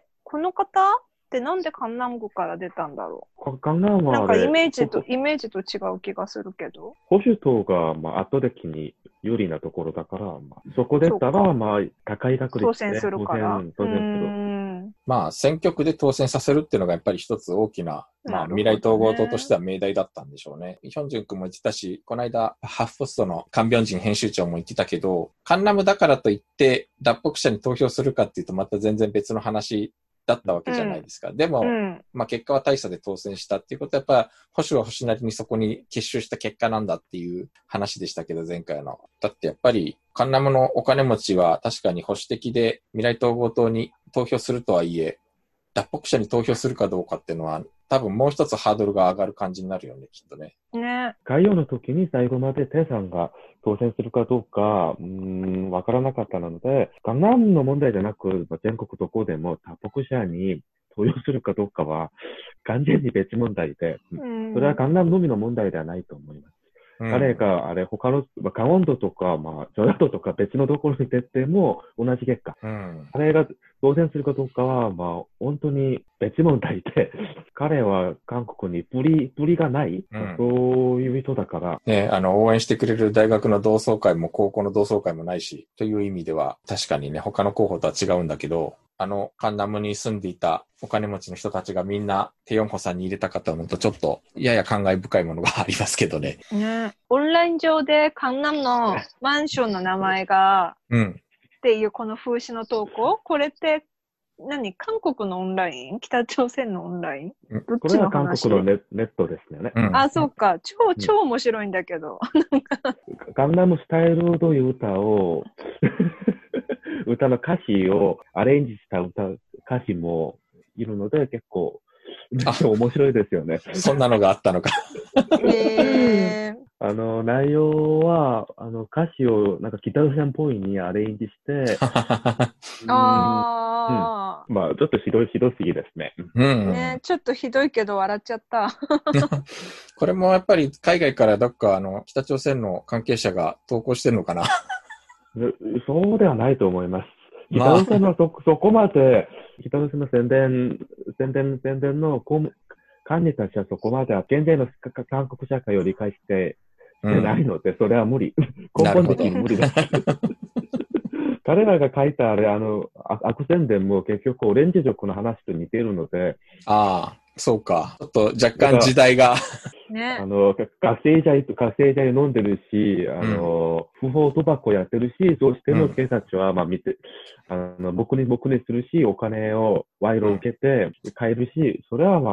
S1: この方ってなんでカンナム区から出たんだろう。
S3: カンナムは
S1: なんかイメージと、イメージと違う気がするけど。
S3: 保守党が、まあ、圧倒的に有利なところだから、まあ、そこでしたら、まあ、高い確率で
S1: 当選するから。
S3: 当選する。
S2: まあ、選挙区で当選させるっていうのがやっぱり一つ大きな、まあ、未来統合党としては命題だったんでしょうね。ヒョンジュン君も言ってたし、この間、ハーフポストのカンビョンジン編集長も言ってたけど、カンナムだからといって、脱北者に投票するかっていうとまた全然別の話だったわけじゃないですか。うん、でも、うん、まあ結果は大差で当選したっていうことはやっぱ保守は保守なりにそこに結集した結果なんだっていう話でしたけど、前回の。だってやっぱりカンナムのお金持ちは確かに保守的で未来統合党に投票するとはいえ、脱北者に投票するかどうかっていうのは多分もう一つハードルが上がる感じになるよね、きっとね。
S1: ね。
S3: 概要の時に最後までテイさんが当選するかどうか、うーん、わからなかったので、カンナムの問題じゃなく、全国どこでも脱北者に投票するかどうかは完全に別問題で、うん、それはカンナムのみの問題ではないと思います。うん、彼が、あれ、他の、まあ、カンウォンドとか、まあ、ジョヤドとか別のところに出ても同じ結果。うん、彼が当選するかどうかは、まあ、本当に別問題で、彼は韓国にプリ、プリがない、うん、そういう人だから。
S2: ね、あの、応援してくれる大学の同窓会も高校の同窓会もないし、という意味では、確かにね、他の候補とは違うんだけど、あの、カンナムに住んでいたお金持ちの人たちがみんなテヨンホさんに入れたかと思うとちょっとやや感慨深いものがありますけどね。
S1: ね、オンライン上でカンナムのマンションの名前が、うん、っていうこの風刺の投稿、これって何？韓国のオンライン？北朝鮮のオンライン？
S3: どっちの話？これは韓国の ネ, ネットですよね。
S1: うん、あ、そうか。超、超面白いんだけど。
S3: カンナムスタイルという歌を、歌の歌詞をアレンジした歌、歌詞もいるので結構面白いですよね。
S2: そんなのがあったのか。
S1: へー。
S3: あの、内容は、あの、歌詞をなんか北朝鮮っぽいにアレンジして、
S1: うん、ああ、
S3: うん。まあ、ちょっとひどい、ひどすぎですね。
S1: うん。ね、ちょっとひどいけど笑っちゃった。
S2: これもやっぱり海外からどっかあの、北朝鮮の関係者が投稿してるのかな。
S3: そうではないと思います。北朝鮮のそ、そこまで、北朝鮮の宣伝、宣伝、宣伝の管理たちはそこまで現在の韓国社会を理解してないので、うん、それは無理。根本的に無理です。彼らが書いたあれ、あの、悪宣伝も結局オレンジ族の話と似ているので。
S2: ああ、そうか。ちょっと若干時代が。
S1: ね、
S3: あの、覚醒剤と覚醒剤飲んでるし、あの、うん、不法賭博やってるし、どうしても警察は、まあ見て、うん、あの、僕に僕にするし、お金を賄賂を受けて買えるし、それはまあ、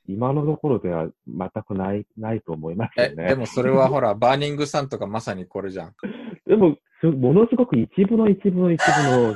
S3: 今のところでは全くない、ないと思いますよね。
S2: え、でもそれはほら、バーニングサンとかまさにこれじゃん。
S3: でも、ものすごく一部の一部の一部の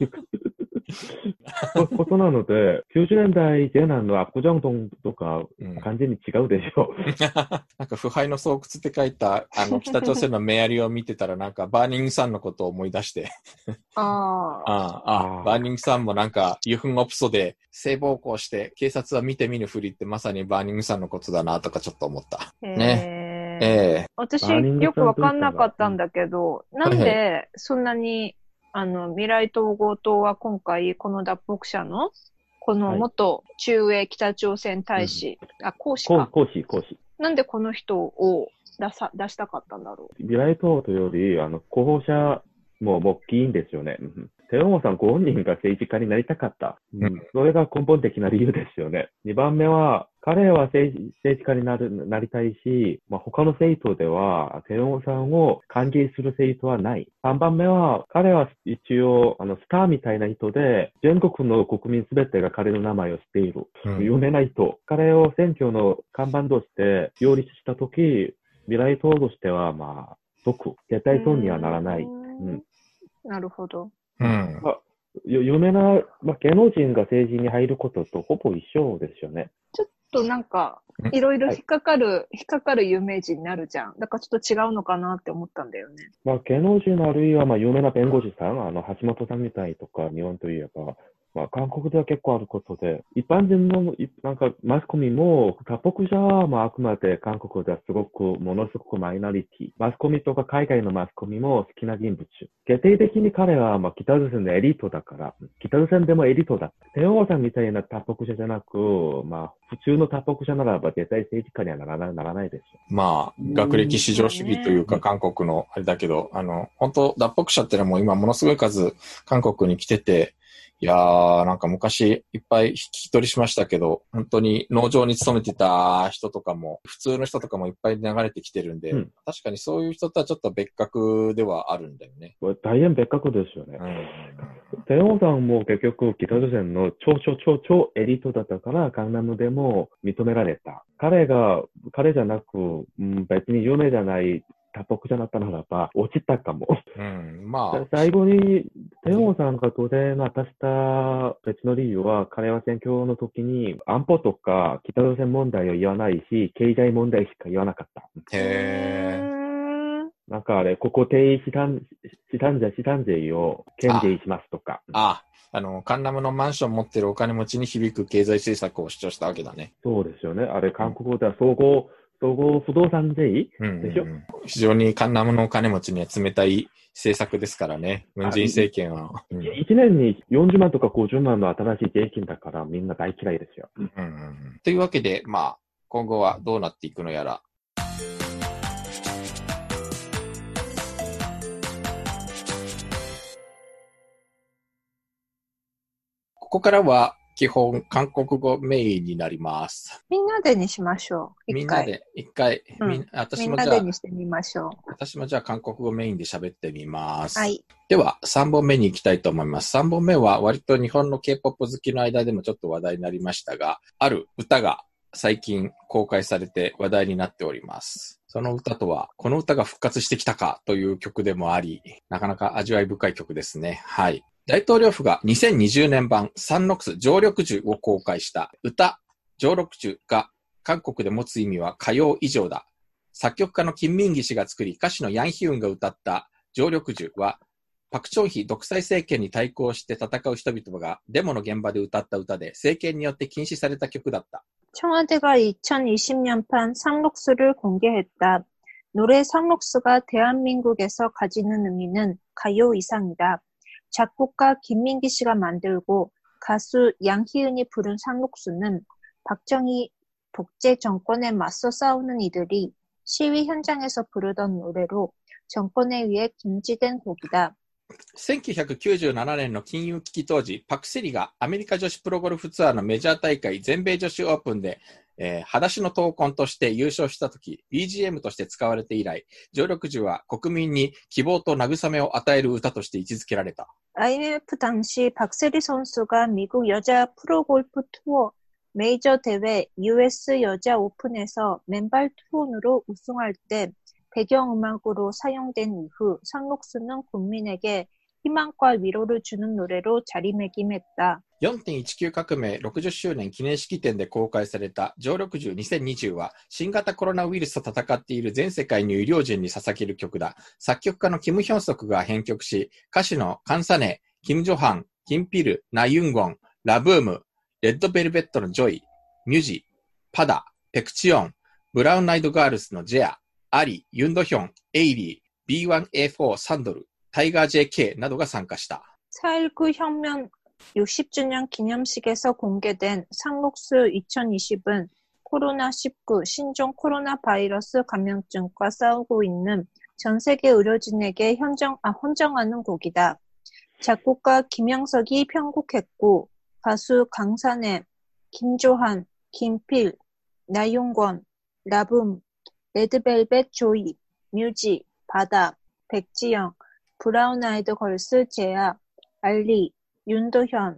S3: ことなので、きゅうじゅうねんだい前半の압구정洞とか、完全に違うでしょ。うん、
S2: なんか腐敗の巣窟って書いた、あの、北朝鮮のメアリを見てたら、なんかバーニングサンのことを思い出して。
S1: あ
S2: ああ、バーニングサンもなんか、ユフンオプソで性暴行して、警察は見て見ぬふりってまさにバーニングサンのことだなとかちょっと思った。ね。ええー、
S1: 私、よくわかんなかったんだけど、なんでそんなに、あの、未来統合党は今回、この脱北者の、この元駐英北朝鮮大使、はい、あ、公使か。
S3: 公使、公使。
S1: なんでこの人を出さ、出したかったんだろう。
S3: 未来統合というより、あの、候補者も大きいんですよね。テオモさんご本人が政治家になりたかった。うん、それが根本的な理由ですよね。にばんめは、彼は政治、政治家になる、なりたいし、まあ、他の政党では、テオモさんを歓迎する政党はない。さんばんめは、彼は一応、あの、スターみたいな人で、全国の国民すべてが彼の名前を知っている。うん、有名な人。彼を選挙の看板として擁立したとき、未来党としては、まあ、即、絶対損にはならない。うん、
S1: なるほど。
S2: うん
S3: まあ、有名な、まあ、芸能人が政治に入ることとほぼ一緒ですよね。
S1: ちょっとなんか、いろいろ引っかかる、はい、引っかかる有名人になるじゃん。だからちょっと違うのかなって思ったんだよね。
S3: まあ、芸能人あるいは、まあ、有名な弁護士さん、あの、橋本さんみたいとか、日本といえば、まあ、韓国では結構あることで、一般人の、なんか、マスコミも、脱北者は、まあ、あくまで韓国ではすごく、ものすごくマイノリティ。マスコミとか海外のマスコミも好きな人物。決定的に彼は、まあ、北朝鮮のエリートだから、北朝鮮でもエリートだ。テオさんみたいな脱北者じゃなく、まあ、普通の脱北者ならば、絶対政治家にはならない、ならないですよ。
S2: まあ、学歴至上主義というか、韓国のあれだけど、あの、本当脱北者ってのはもう今ものすごい数、韓国に来てて、いやー、なんか昔いっぱい聞き取りしましたけど、本当に農場に勤めてた人とかも、普通の人とかもいっぱい流れてきてるんで、うん、確かにそういう人とはちょっと別格ではあるんだよね。
S3: 大変別格ですよね。うん、テオさんも結局北朝鮮の超超超超エリートだったから、カンナムでも認められた。彼が、彼じゃなく、うん、別に有名じゃない、脱北者だったならば、落ちたかも。
S2: うん、まあ。
S3: 最後に、テオさんが当然明かした別の理由は、彼は選挙の時に安保とか北朝鮮問題を言わないし、経済問題しか言わなかった。
S2: へー。
S3: なんかあれ、ここ定資産、資産税、資産税を減税しますとか。
S2: ああ、あの、カンナムのマンション持ってるお金持ちに響く経済政策を主張したわけだね。
S3: そうですよね。あれ、韓国語では総合、総合不動産税でしょ、うんうんうん、
S2: 非常にカンナムのお金持ちには冷たい政策ですからね。ムンジェイン政権は。
S3: うん、いちねんによんじゅうまんとかごじゅうまんの新しい税金だからみんな大嫌いですよ。
S2: うんうんうん、というわけで、まあ、今後はどうなっていくのやら。ここからは、基本、韓国語メインになります。
S1: みんなでにしましょう。
S2: みんなで、一回、
S1: うん、
S2: み私もじゃあ、
S1: みんなでにしてみましょう。
S2: 私もじゃあ、韓国語メインで喋ってみます。
S1: はい。
S2: では、さんぼんめに行きたいと思います。さんぼんめは、割と日本の K-ポップ 好きの間でもちょっと話題になりましたが、ある歌が最近公開されて話題になっております。その歌とは、この歌が復活してきたかという曲でもあり、なかなか味わい深い曲ですね。はい。大統領府がにせんにじゅうねん版サンノクス常緑樹を公開した歌、常緑樹が韓国で持つ意味は歌謡以上だ。作曲家のキム・ミンギ氏が作り、歌手のヤン・ヒウンが歌った常緑樹は、パク・チョンヒ独裁政権に対抗して戦う人々がデモの現場で歌った歌で、政権によって禁止された曲だった。
S1: 청와대가 이천이십 년판 상록수를 공개했다. 노래 상록수가 대한민국에서 가지는 의미는 가요 이상이다. 작곡가 김민기 씨가 만들고 가수 양희은이 부른 상록수는 박정희 독재 정권에 맞서 싸우는 이들이 시위 현장에서 부르던 노래로 정권에 의해 금지된 곡이다.
S2: せんきゅうひゃくきゅうじゅうななねんの金融危機当時、パク・セリがアメリカ女子プロゴルフツアーのメジャー大会全米女子オープンで、えー、裸足の闘魂として優勝したとき、ビージーエム として使われて以来、常緑樹は国民に希望と慰めを与える歌として位置づけられた。
S1: 아이엠에프 당시 박세리 선수가 미국 여자 프로골프 투어 메이저 대회 유에스 여자 오픈에서 맨발 투혼으로 우승할 때 배경음악으로 사용된 이후 상록수는 국민에게 희망과 위로를 주는 노래로 자리매김했다.
S2: よんてんいちきゅう 革命ろくじゅっしゅうねん記念式典で公開された常緑樹にせんにじゅうは新型コロナウイルスと戦っている全世界の医療人に捧げる曲だ。作曲家のキム・ヒョンソクが編曲し、歌手のカンサネ、キム・ジョハン、キンピル、ナ・ユンゴン、ラブーム、レッドベルベットのジョイ、ミュジ、パダ、ペクチオン、ブラウンアイドガールズのジェア、アリ、ユンドヒョン、エイリー、ビーワンエーフォー サンドル、タイガー ジェーケー などが参加した。
S1: 사 일구 혁명 육십 주년 기념식에서 공개된 상록수 이천이십은 코로나 십구 신종 코로나 바이러스 감염증과 싸우고 있는 전 세계 의료진에게 현정, 아, 헌정하는 곡이다. 작곡가 김영석이 편곡했고 가수 강산의, 김조한, 김필, 나윤권, 라붐, 레드벨벳 조이, 뮤지, 바다, 백지영, 브라운 아이드 걸스 제아, 알리, 윤도현,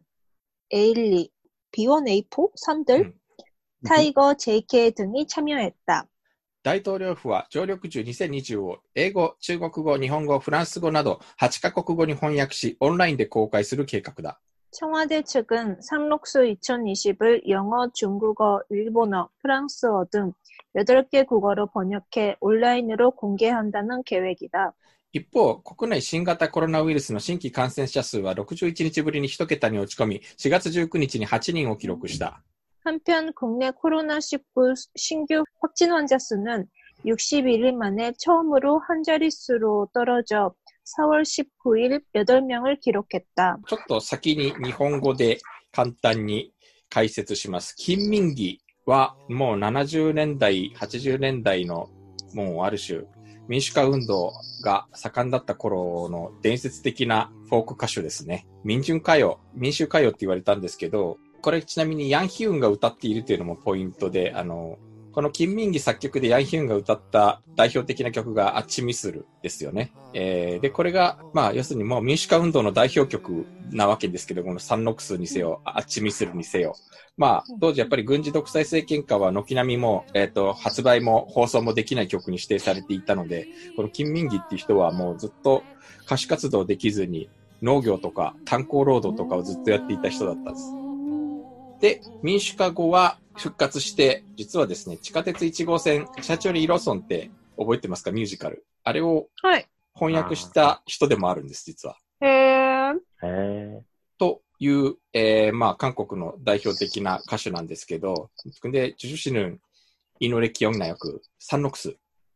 S1: 에일리, 비원에이포, 산들,
S2: 음.
S1: 타이거, 제이케이 등이 참여했다.
S2: 大統領府は常緑樹にせんにじゅうを英語、中国語、日本語、フランス語などはちカ国語に翻訳し、オンラインで公開する計画だ。
S1: 청와대 측은 상록수 이천이십을 영어, 중국어, 일본어, 프랑스어 등 여덟 개 국어로 번역해 온라인으로 공개한다는 계획이다.
S2: 一方、国内新型コロナウイルスの新規感染者数はろくじゅういちにちぶりに一桁に落ち込み、しがつじゅうくにちにはちにんを記録した。
S1: 한편 국내 코로나 십구 신규 확진 환자 수는 육십일 일 만에 처음으로 한 자릿수로 떨어져 사월 십구일 여덟 명을 기록했다.
S2: ちょっと先に日本語で簡単に解説します。金民義はもうななじゅうねんだい、はちじゅうねんだいのもうある種民主化運動が盛んだった頃の伝説的なフォーク歌手ですね。民衆歌謡、民衆歌謡って言われたんですけど、これちなみにヤンヒュンが歌っているというのもポイントで、あの、この金民義作曲でヤンヒュンが歌った代表的な曲がアッチミスルですよね。えー、で、これが、まあ、要するにもう民主化運動の代表曲なわけですけど、このサンノクスにせよ、アッチミスルにせよ。まあ、当時やっぱり軍事独裁政権下は軒並みも、えっと、発売も放送もできない曲に指定されていたので、この金民義っていう人はもうずっと歌手活動できずに農業とか炭鉱労働とかをずっとやっていた人だったんです。で、民主化後は復活して、実はですね、地下鉄いち号線、シャチョリ・ロソンって覚えてますか？ミュージカル。あれを翻訳した人でもあるんです、実は。
S1: へー。
S3: へー。
S2: という、えー、まあ、韓国の代表的な歌手なんですけど、근데 주주씨는 이 노래 기억나요? 그 산록수.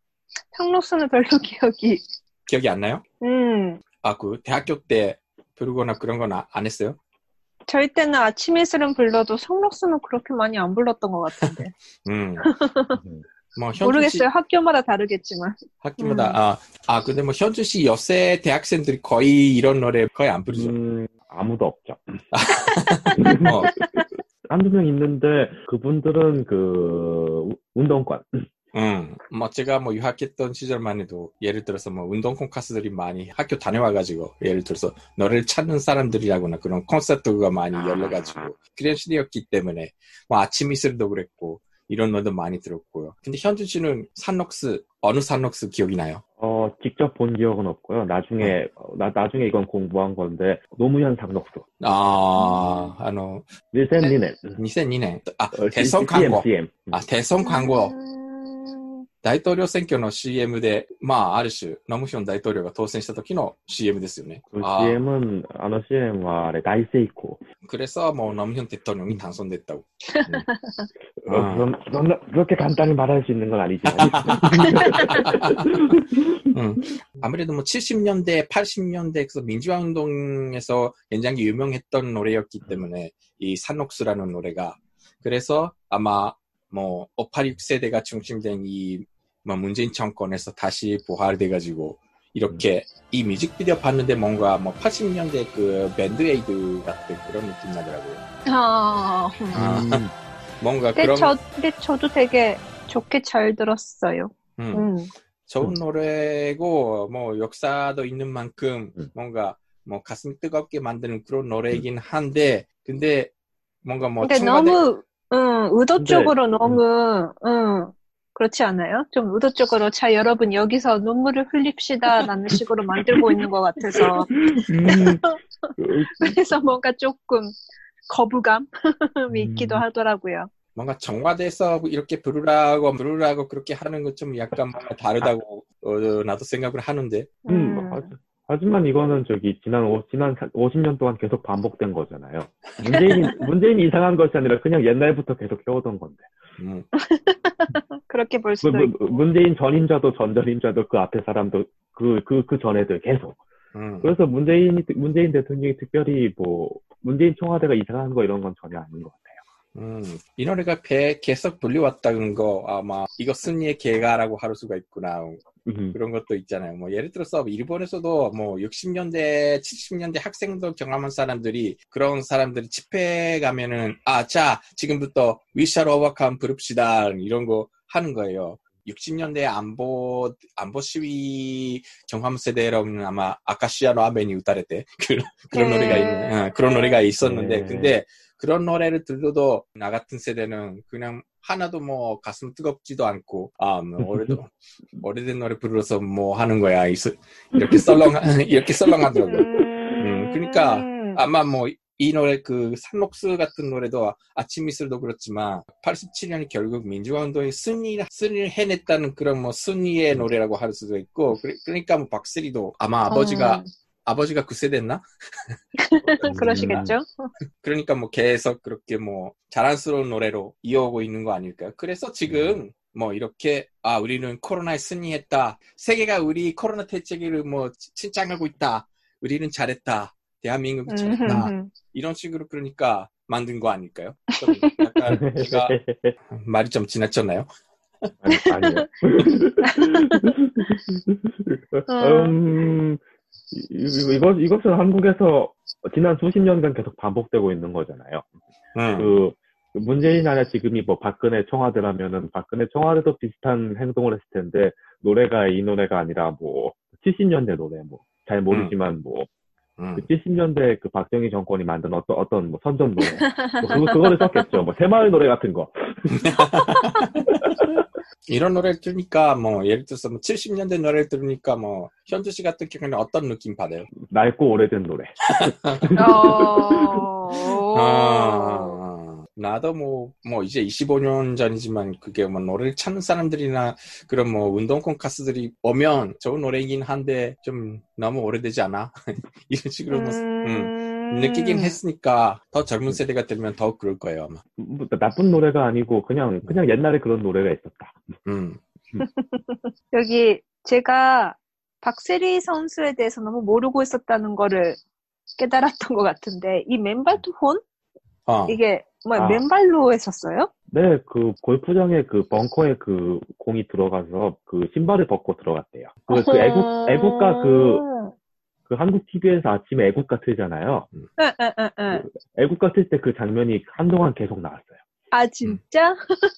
S1: 상록수는 별로 기억이.
S2: 기억이 안 나요?
S1: 음.
S2: 아, 그 대학교 때 부르거나 그런 건 안 했어요?
S1: 저희 때는 아침 이슬은 불러도 상록수는 그렇게 많이 안 불렀던 것 같은데.
S2: 음. 뭐
S1: 모르겠어요. 학교마다 다르겠지만.
S2: 학교마다
S1: 음.
S2: 아, 아 근데 뭐 현주 씨 여세 대학생들이 거의 이런 노래 거의 안 부르죠.
S3: 음, 아무도 없죠.
S2: 어.
S3: 한두 명 있는데 그분들은 그 운동권.
S2: 응, 뭐 제가 뭐 유학했던 시절만 해도 예를 들어서 뭐 운동권 가수들이 많이 학교 다녀와가지고 예를 들어서 너를 찾는 사람들이라거나 그런 콘서트가 많이 열려가지고 그런 시대였기 때문에 뭐 아침 이슬도 그랬고 이런 노래도 많이 들었고요. 근데 현준 씨는 산록스 어느 산록스 기억이 나요?
S3: 어 직접 본 기억은 없고요. 나중에 네. 나 나중에 이건 공부한 건데 노무현 상록수.
S2: 아, 아노
S3: 이천이 년.
S2: 이천이 년. 아, 대선 광고.
S3: 씨엠.
S2: 아, 대선 광고. 大統領選挙の 씨엠 で、まあ、ある種、ノムヒョン大統領が当選した時の 씨엠 ですよね。
S3: 그 씨엠은, 아の 씨엠は 大成功.
S2: 그래서 뭐, 노무현 대통령이 당선됐다고.
S3: 음. 어, 그럼, 그럼, 그렇게 간단히 말할 수 있는 건 아니지만.
S2: 음. 아무래도 뭐, 칠십 년대, 팔십 년대, 그래서 민주화 운동에서 굉장히 유명했던 노래였기 때문에, 이 산옥수라는 노래가. 그래서 아마, 뭐, 오팔육 세대가 중심된 이, 뭐, 문재인 정권에서 다시 부활돼가지고, 이렇게, 음. 이 뮤직비디오 봤는데 뭔가, 뭐, 팔십 년대 그, 밴드에이드 같은 그런 느낌 나더라고요.
S1: 아,
S2: 음. 음. 뭔가
S1: 근데
S2: 그런.
S1: 저, 근데 저도 되게 좋게 잘 들었어요.
S2: 음.
S1: 음.
S2: 좋은 노래고, 뭐, 역사도 있는 만큼, 음. 뭔가, 뭐, 가슴 뜨겁게 만드는 그런 노래이긴 한데, 근데, 뭔가 뭐,
S1: 근데
S2: 청와대...
S1: 너무, 응, 의도적으로 너무, 응, 그렇지 않아요? 좀 의도적으로, 자, 여러분, 여기서 눈물을 흘립시다, 라는 식으로 만들고 있는 것 같아서.
S3: 음,
S1: 그래서 뭔가 조금 거부감이 있기도
S3: 음,
S1: 하더라고요.
S2: 뭔가 정화돼서 이렇게 부르라고 부르라고 그렇게 하는 건 좀 약간 뭔가 다르다고 어, 나도 생각을 하는데.
S3: 음,
S1: 음,
S3: 하- 하지만 이거는 저기 지난 오, 지난 오십 년 동안 계속 반복된 거잖아요. 문재인이 문재인이 이상한 것이 아니라 그냥 옛날부터 계속 해오던 건데.
S2: 음,
S1: 그렇게 볼
S3: 그,
S1: 수도
S3: 무-
S1: 있고.
S3: 문재인 전임자도 전전임자도 그 앞에 사람도 그 그 그 전에도 계속.
S2: 음.
S3: 그래서 문재인이 문재인 대통령이 특별히 뭐 문재인 청와대가 이상한 거 이런 건 전혀 아닌 것 같아요.
S2: 음, 이 노래가 배 계속 불려왔다는 거 아마 이거 승리의 계가라고 할 수가 있구나.
S3: 음,
S2: 그런 것도 있잖아요. 뭐 예를 들어서 일본에서도 뭐 육십 년대, 칠십 년대 학생도 경험한 사람들이 그런 사람들이 집회 가면은 아, 자, 지금부터 We shall overcome 부릅시다 이런 거 하는 거예요. 육십 년대 안보 안보 시위 경험 세대라면 아마 아카시아노 아베니 우타레테 그런 그런
S1: 네.
S2: 노래가 있는 어, 그런 노래가 있었는데
S3: 네.
S2: 근데 그런 노래를 들어도 나 같은 세대는 그냥 하나도 뭐 가슴 뜨겁지도 않고 아 뭐 오래도 오래된 노래 부르러서 뭐 하는 거야 이렇게 썰렁 이렇게 썰렁하더라고요. 음 그러니까
S1: 음,
S2: 아마 뭐 이 노래 그 산록스 같은 노래도 아침 이슬도 그렇지만 팔십칠 년이 결국 민주화 운동의 승리 승리를 해냈다는 그런 뭐 승리의 노래라고 할 수도 있고 그러니까 뭐 박세리도 아마 아버지가
S1: 음,
S2: 아버지가 그 세대였나?
S1: 그러시겠죠?
S2: 그러니까 뭐 계속 그렇게 뭐 자랑스러운 노래로 이어오고 있는 거 아닐까요? 그래서 지금 뭐 이렇게 아 우리는 코로나에 승리했다. 세계가 우리 코로나 대책을 뭐 칭찬하고 있다. 우리는 잘했다. 대한민국이 잘했다.
S1: 음,
S2: 이런 식으로 그러니까 만든 거 아닐까요? 좀 약간 제가 말이 좀 지나쳤나요?
S3: 아니, 아니요. 음, 이- 이것, 이것은 한국에서 지난 수십 년간 계속 반복되고 있는 거잖아요.
S2: 음.
S3: 그, 그 문재인 아니라 지금이 뭐 박근혜 청와대라면은 박근혜 청와대도 비슷한 행동을 했을 텐데 노래가 이 노래가 아니라 뭐 칠십 년대 노래 뭐 잘 모르지만 뭐
S2: 음.
S3: 그 칠십 년대 그 박정희 정권이 만든 어떤 어떤 뭐 선전 노래 뭐 그거 그거를 썼겠죠. 뭐 새마을 노래 같은 거.
S2: 이런 노래를 들으니까 뭐 예를 들어서 뭐 칠십 년대 노래를 들으니까 뭐 현주 씨 같은 경우는 어떤 느낌 받아요?
S3: 낡고 오래된 노래.
S1: 어,
S2: 아, 나도 뭐, 뭐, 이제 이십오 년 전이지만, 그게 뭐, 노래를 찾는 사람들이나, 그런 뭐, 운동권 가수들이 오면 좋은 노래이긴 한데, 좀 너무 오래되지 않아? 이런 식으로 뭐, 음, 느끼긴 했으니까, 더 젊은 세대가 들으면 더 그럴 거예요, 아마.
S3: 뭐, 나쁜 노래가 아니고 그냥 그냥 옛날에 그런 노래가 있었다.
S2: 음,
S1: 여기 제가 박세리 선수에 대해서 너무 모르고 있었다는 거를 깨달았던 것 같은데, 이 맨발 투혼?
S2: 어,
S1: 이게, 뭐,
S3: 아.
S1: 맨발로 했었어요?
S3: 네, 그 골프장에 그 벙커에 그 공이 들어가서 그 신발을 벗고 들어갔대요. 그, 그 애국 애국가 그, 그 한국 티비에서 아침에 애국가 틀잖아요.
S1: 응, 응, 응, 응.
S3: 애국가 틀 때 그 장면이 한동안 계속 나왔어요.
S1: 아, 진짜?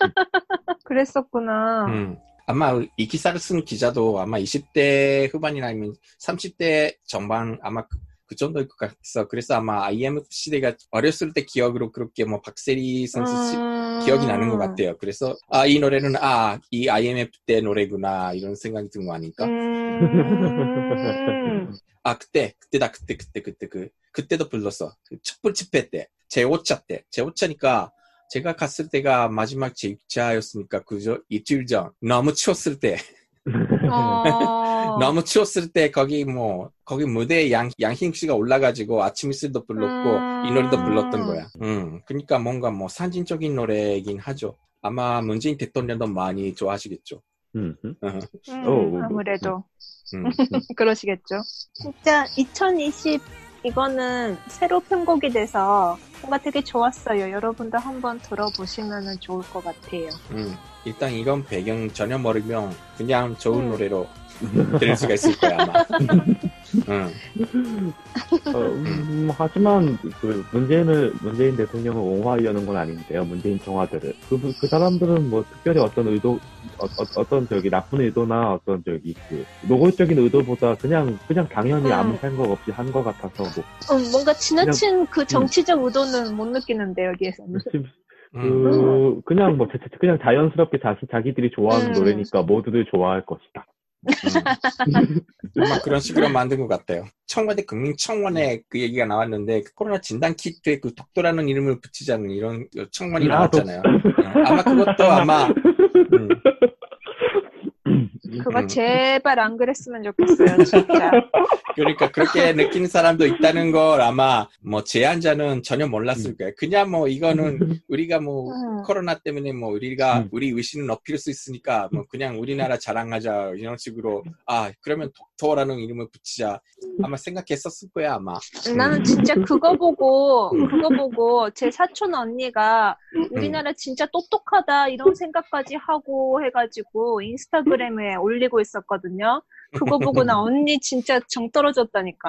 S1: 그랬었구나.
S2: 음. 아마 이 기사를 쓴 기자도 아마 이십 대 후반이나 아니면 삼십 대 전반 아마 그, 그 정도일 것 같아서 그래서 아마 아이엠에프 시대가 어렸을 때 기억으로 그렇게 뭐 박세리 선수 시,
S1: 음...
S2: 기억이 나는 것 같아요. 그래서 아, 이 노래는 아, 이 아이엠에프 때 노래구나 이런 생각이 든 거 아닐까?
S1: 음...
S2: 아, 그때 그때다 그때 그때 그때 그 그때도 불렀어. 그 촛불 집회 때 제오 차 때 제오 차니까 제가 갔을 때가 마지막 제육 차였으니까 그저 이틀 전 너무 추웠을 때
S1: 어...
S2: 너무 추웠을 때 거기 뭐 거기 무대에 양 양희웅 씨가 올라가지고 아침 이슬도 불렀고
S1: 음...
S2: 이 노래도 불렀던 거야. 음, 그러니까 뭔가 뭐 상징적인 노래이긴 하죠. 아마 문재인 대통령도 많이 좋아하시겠죠.
S3: 음, 음.
S2: 음,
S1: 음,
S3: 어,
S1: 아무래도
S2: 음.
S1: 그러시겠죠. 진짜 이천이십 이거는 새로 편곡이 돼서 뭔가 되게 좋았어요. 여러분도 한번 들어보시면 좋을 것 같아요.
S2: 음, 일단 이건 배경 전혀 모르면 그냥 좋은
S1: 음.
S2: 노래로 들을 수가 있을 거야 아마. 음.
S3: 어, 음, 하지만 그 문재인을 문재인 대통령을 옹호하려는 건 아닌데요. 문재인 청와대를 그, 그 사람들은 뭐 특별히 어떤 의도 어, 어, 어떤 저기 나쁜 의도나 어떤 저기 그 노골적인 의도보다 그냥 그냥 당연히
S1: 음.
S3: 아무 생각 없이 한 것 같아서 뭐
S1: 음, 뭔가 지나친 그 정치적 의도는 못 느끼는데 여기에서는.
S3: 지- 그, 그냥 뭐, 그냥 자연스럽게 자시, 자기들이 좋아하는
S1: 음.
S3: 노래니까 모두들 좋아할 것이다.
S2: 음. 아마 그런 식으로 만든 것 같아요. 청와대 국민청원에 그 얘기가 나왔는데 그 코로나 진단 키트에 그 독도라는 이름을 붙이자는 이런 청원이
S3: 아, 독-
S2: 나왔잖아요. 음, 아마 그것도 아마 음,
S1: 그거
S2: 음.
S1: 제발 안 그랬으면 좋겠어요, 진짜.
S2: 그러니까 그렇게 느끼는 사람도 있다는 걸 아마 뭐 제안자는 전혀 몰랐을 거예요. 그냥 뭐 이거는 우리가 뭐
S1: 음.
S2: 코로나 때문에 뭐 우리가
S3: 음.
S2: 우리 의신을 높일 수 있으니까 뭐 그냥 우리나라 자랑하자 이런 식으로 아 그러면 독도라는 이름을 붙이자 아마 생각했었을 거야 아마.
S1: 나는 진짜 그거 보고,
S2: 음.
S1: 그거 보고 제 사촌 언니가 우리나라 진짜 똑똑하다 이런 생각까지 하고 해가지고 인스타그램에 올리고 있었거든요. 그거 보고 나 언니 진짜 정 떨어졌다니까.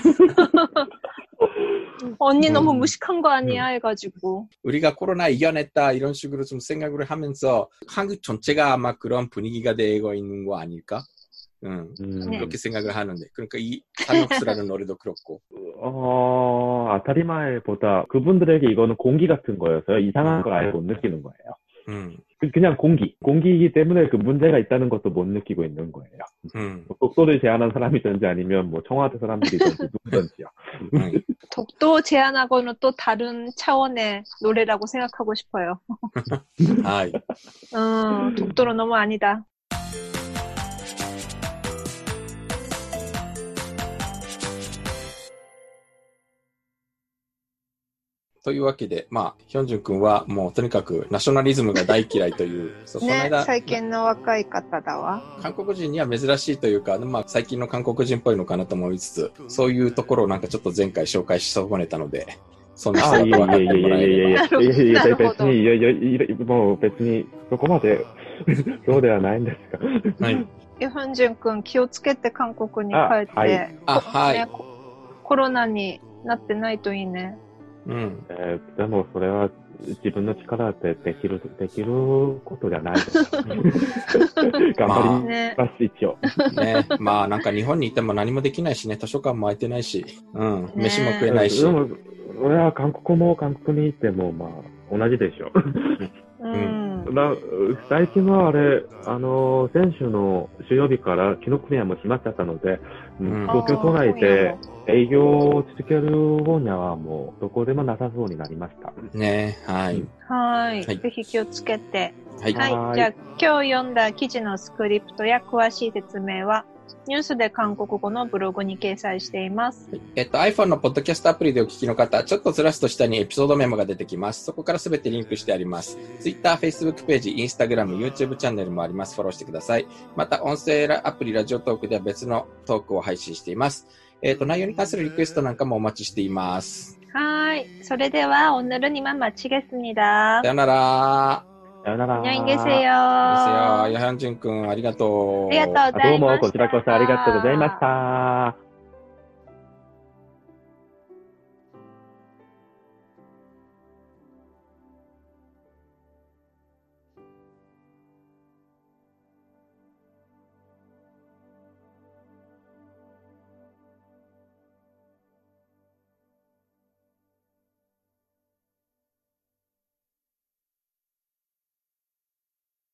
S1: 언니 너무
S2: 음.
S1: 무식한 거 아니야 해가지고.
S2: 우리가 코로나 이겨냈다 이런 식으로 좀 생각을 하면서 한국 전체가 아마 그런 분위기가 되고 있는 거 아닐까? 응,
S3: 음,
S1: 네.
S2: 그렇게 생각을 하는데 그러니까 이 산옥수라는 노래도 그렇고
S3: 어, 아타리마에보다 그분들에게 이거는 공기 같은 거여서요. 이상한 걸 아예 못 느끼는 거예요.
S2: 음,
S3: 그- 그냥 공기. 공기이기 때문에 그 문제가 있다는 것도 못 느끼고 있는 거예요.
S2: 음,
S3: 뭐 독도를 제안한 사람이든지 아니면 뭐 청와대 사람들이든지 누구든지요.
S2: 음.
S1: 독도 제안하고는 또 다른 차원의 노래라고 생각하고 싶어요.
S2: 아,
S1: 음, 독도는 너무 아니다.
S2: というわけで、まあ、ヒョンジュン君はもうとにかくナショナリズムが大嫌いという、そうこの
S1: ね、
S2: 間、
S1: 最近の若い方だわ。
S2: 韓国人には珍しいというか、まあ、最近の韓国人っぽいのかなと思いつつ、そういうところをなんかちょっと前回紹介し損ねたので、そんな人
S3: あ、い
S2: だと分かって
S3: やいやい
S2: もらえれば。
S3: やいやいやいやいやいや、
S1: なるほど
S3: 別に、いやいやいや、もう別に、そこまで、そうではないんですが。
S2: はい。
S1: ヨハンジュン君気をつけて韓国に帰って、
S3: あはい
S2: あ、
S1: こ
S2: はい。
S1: ねココロナになってないといいね。
S2: うん。
S3: えーでも、それは自分の力でできる、できることじゃないです。頑張
S1: ね
S3: ります、一応。
S2: ね。まあなんか日本にいても何もできないしね、図書館も空いてないし、うん。
S1: ね
S2: 飯も食えないし。
S3: でも、俺は韓国も韓国に行っても、まあ、同じでしょ。
S1: うん。
S3: な最近はあれ、あの、先週の週曜日から紀ノ国屋も閉まっちゃったので、
S2: うん
S3: 東京都内で営業を続ける分にはもうどこでもなさそうになりました。
S2: ね。はい。
S1: はい。
S2: はい
S1: ぜひ気をつけて。
S2: はい。
S1: はい。
S3: はい
S1: じゃあ、今日読んだ記事のスクリプトや詳しい説明は、ニュースで韓国語のブログに掲載しています。
S2: えっと、iPhone のポッドキャストアプリでお聞きの方、ちょっとずらすと下にエピソードメモが出てきます。そこからすべてリンクしてあります。Twitter、Facebook ページ、Instagram、YouTube チャンネルもあります。フォローしてください。また、音声アプリ、ラジオトークでは別のトークを配信しています。えっと、内容に関するリクエストなんかもお待ちしています。
S1: はい。それでは、오늘은 이만 마치겠습니다.
S2: さよなら。
S3: さよなら。
S1: 안녕히
S2: ですよ。
S1: 계세요.
S2: ヤハンジュン君、ありがとう。
S1: ありがとうございました。
S3: どうもこちらこそありがとうございました。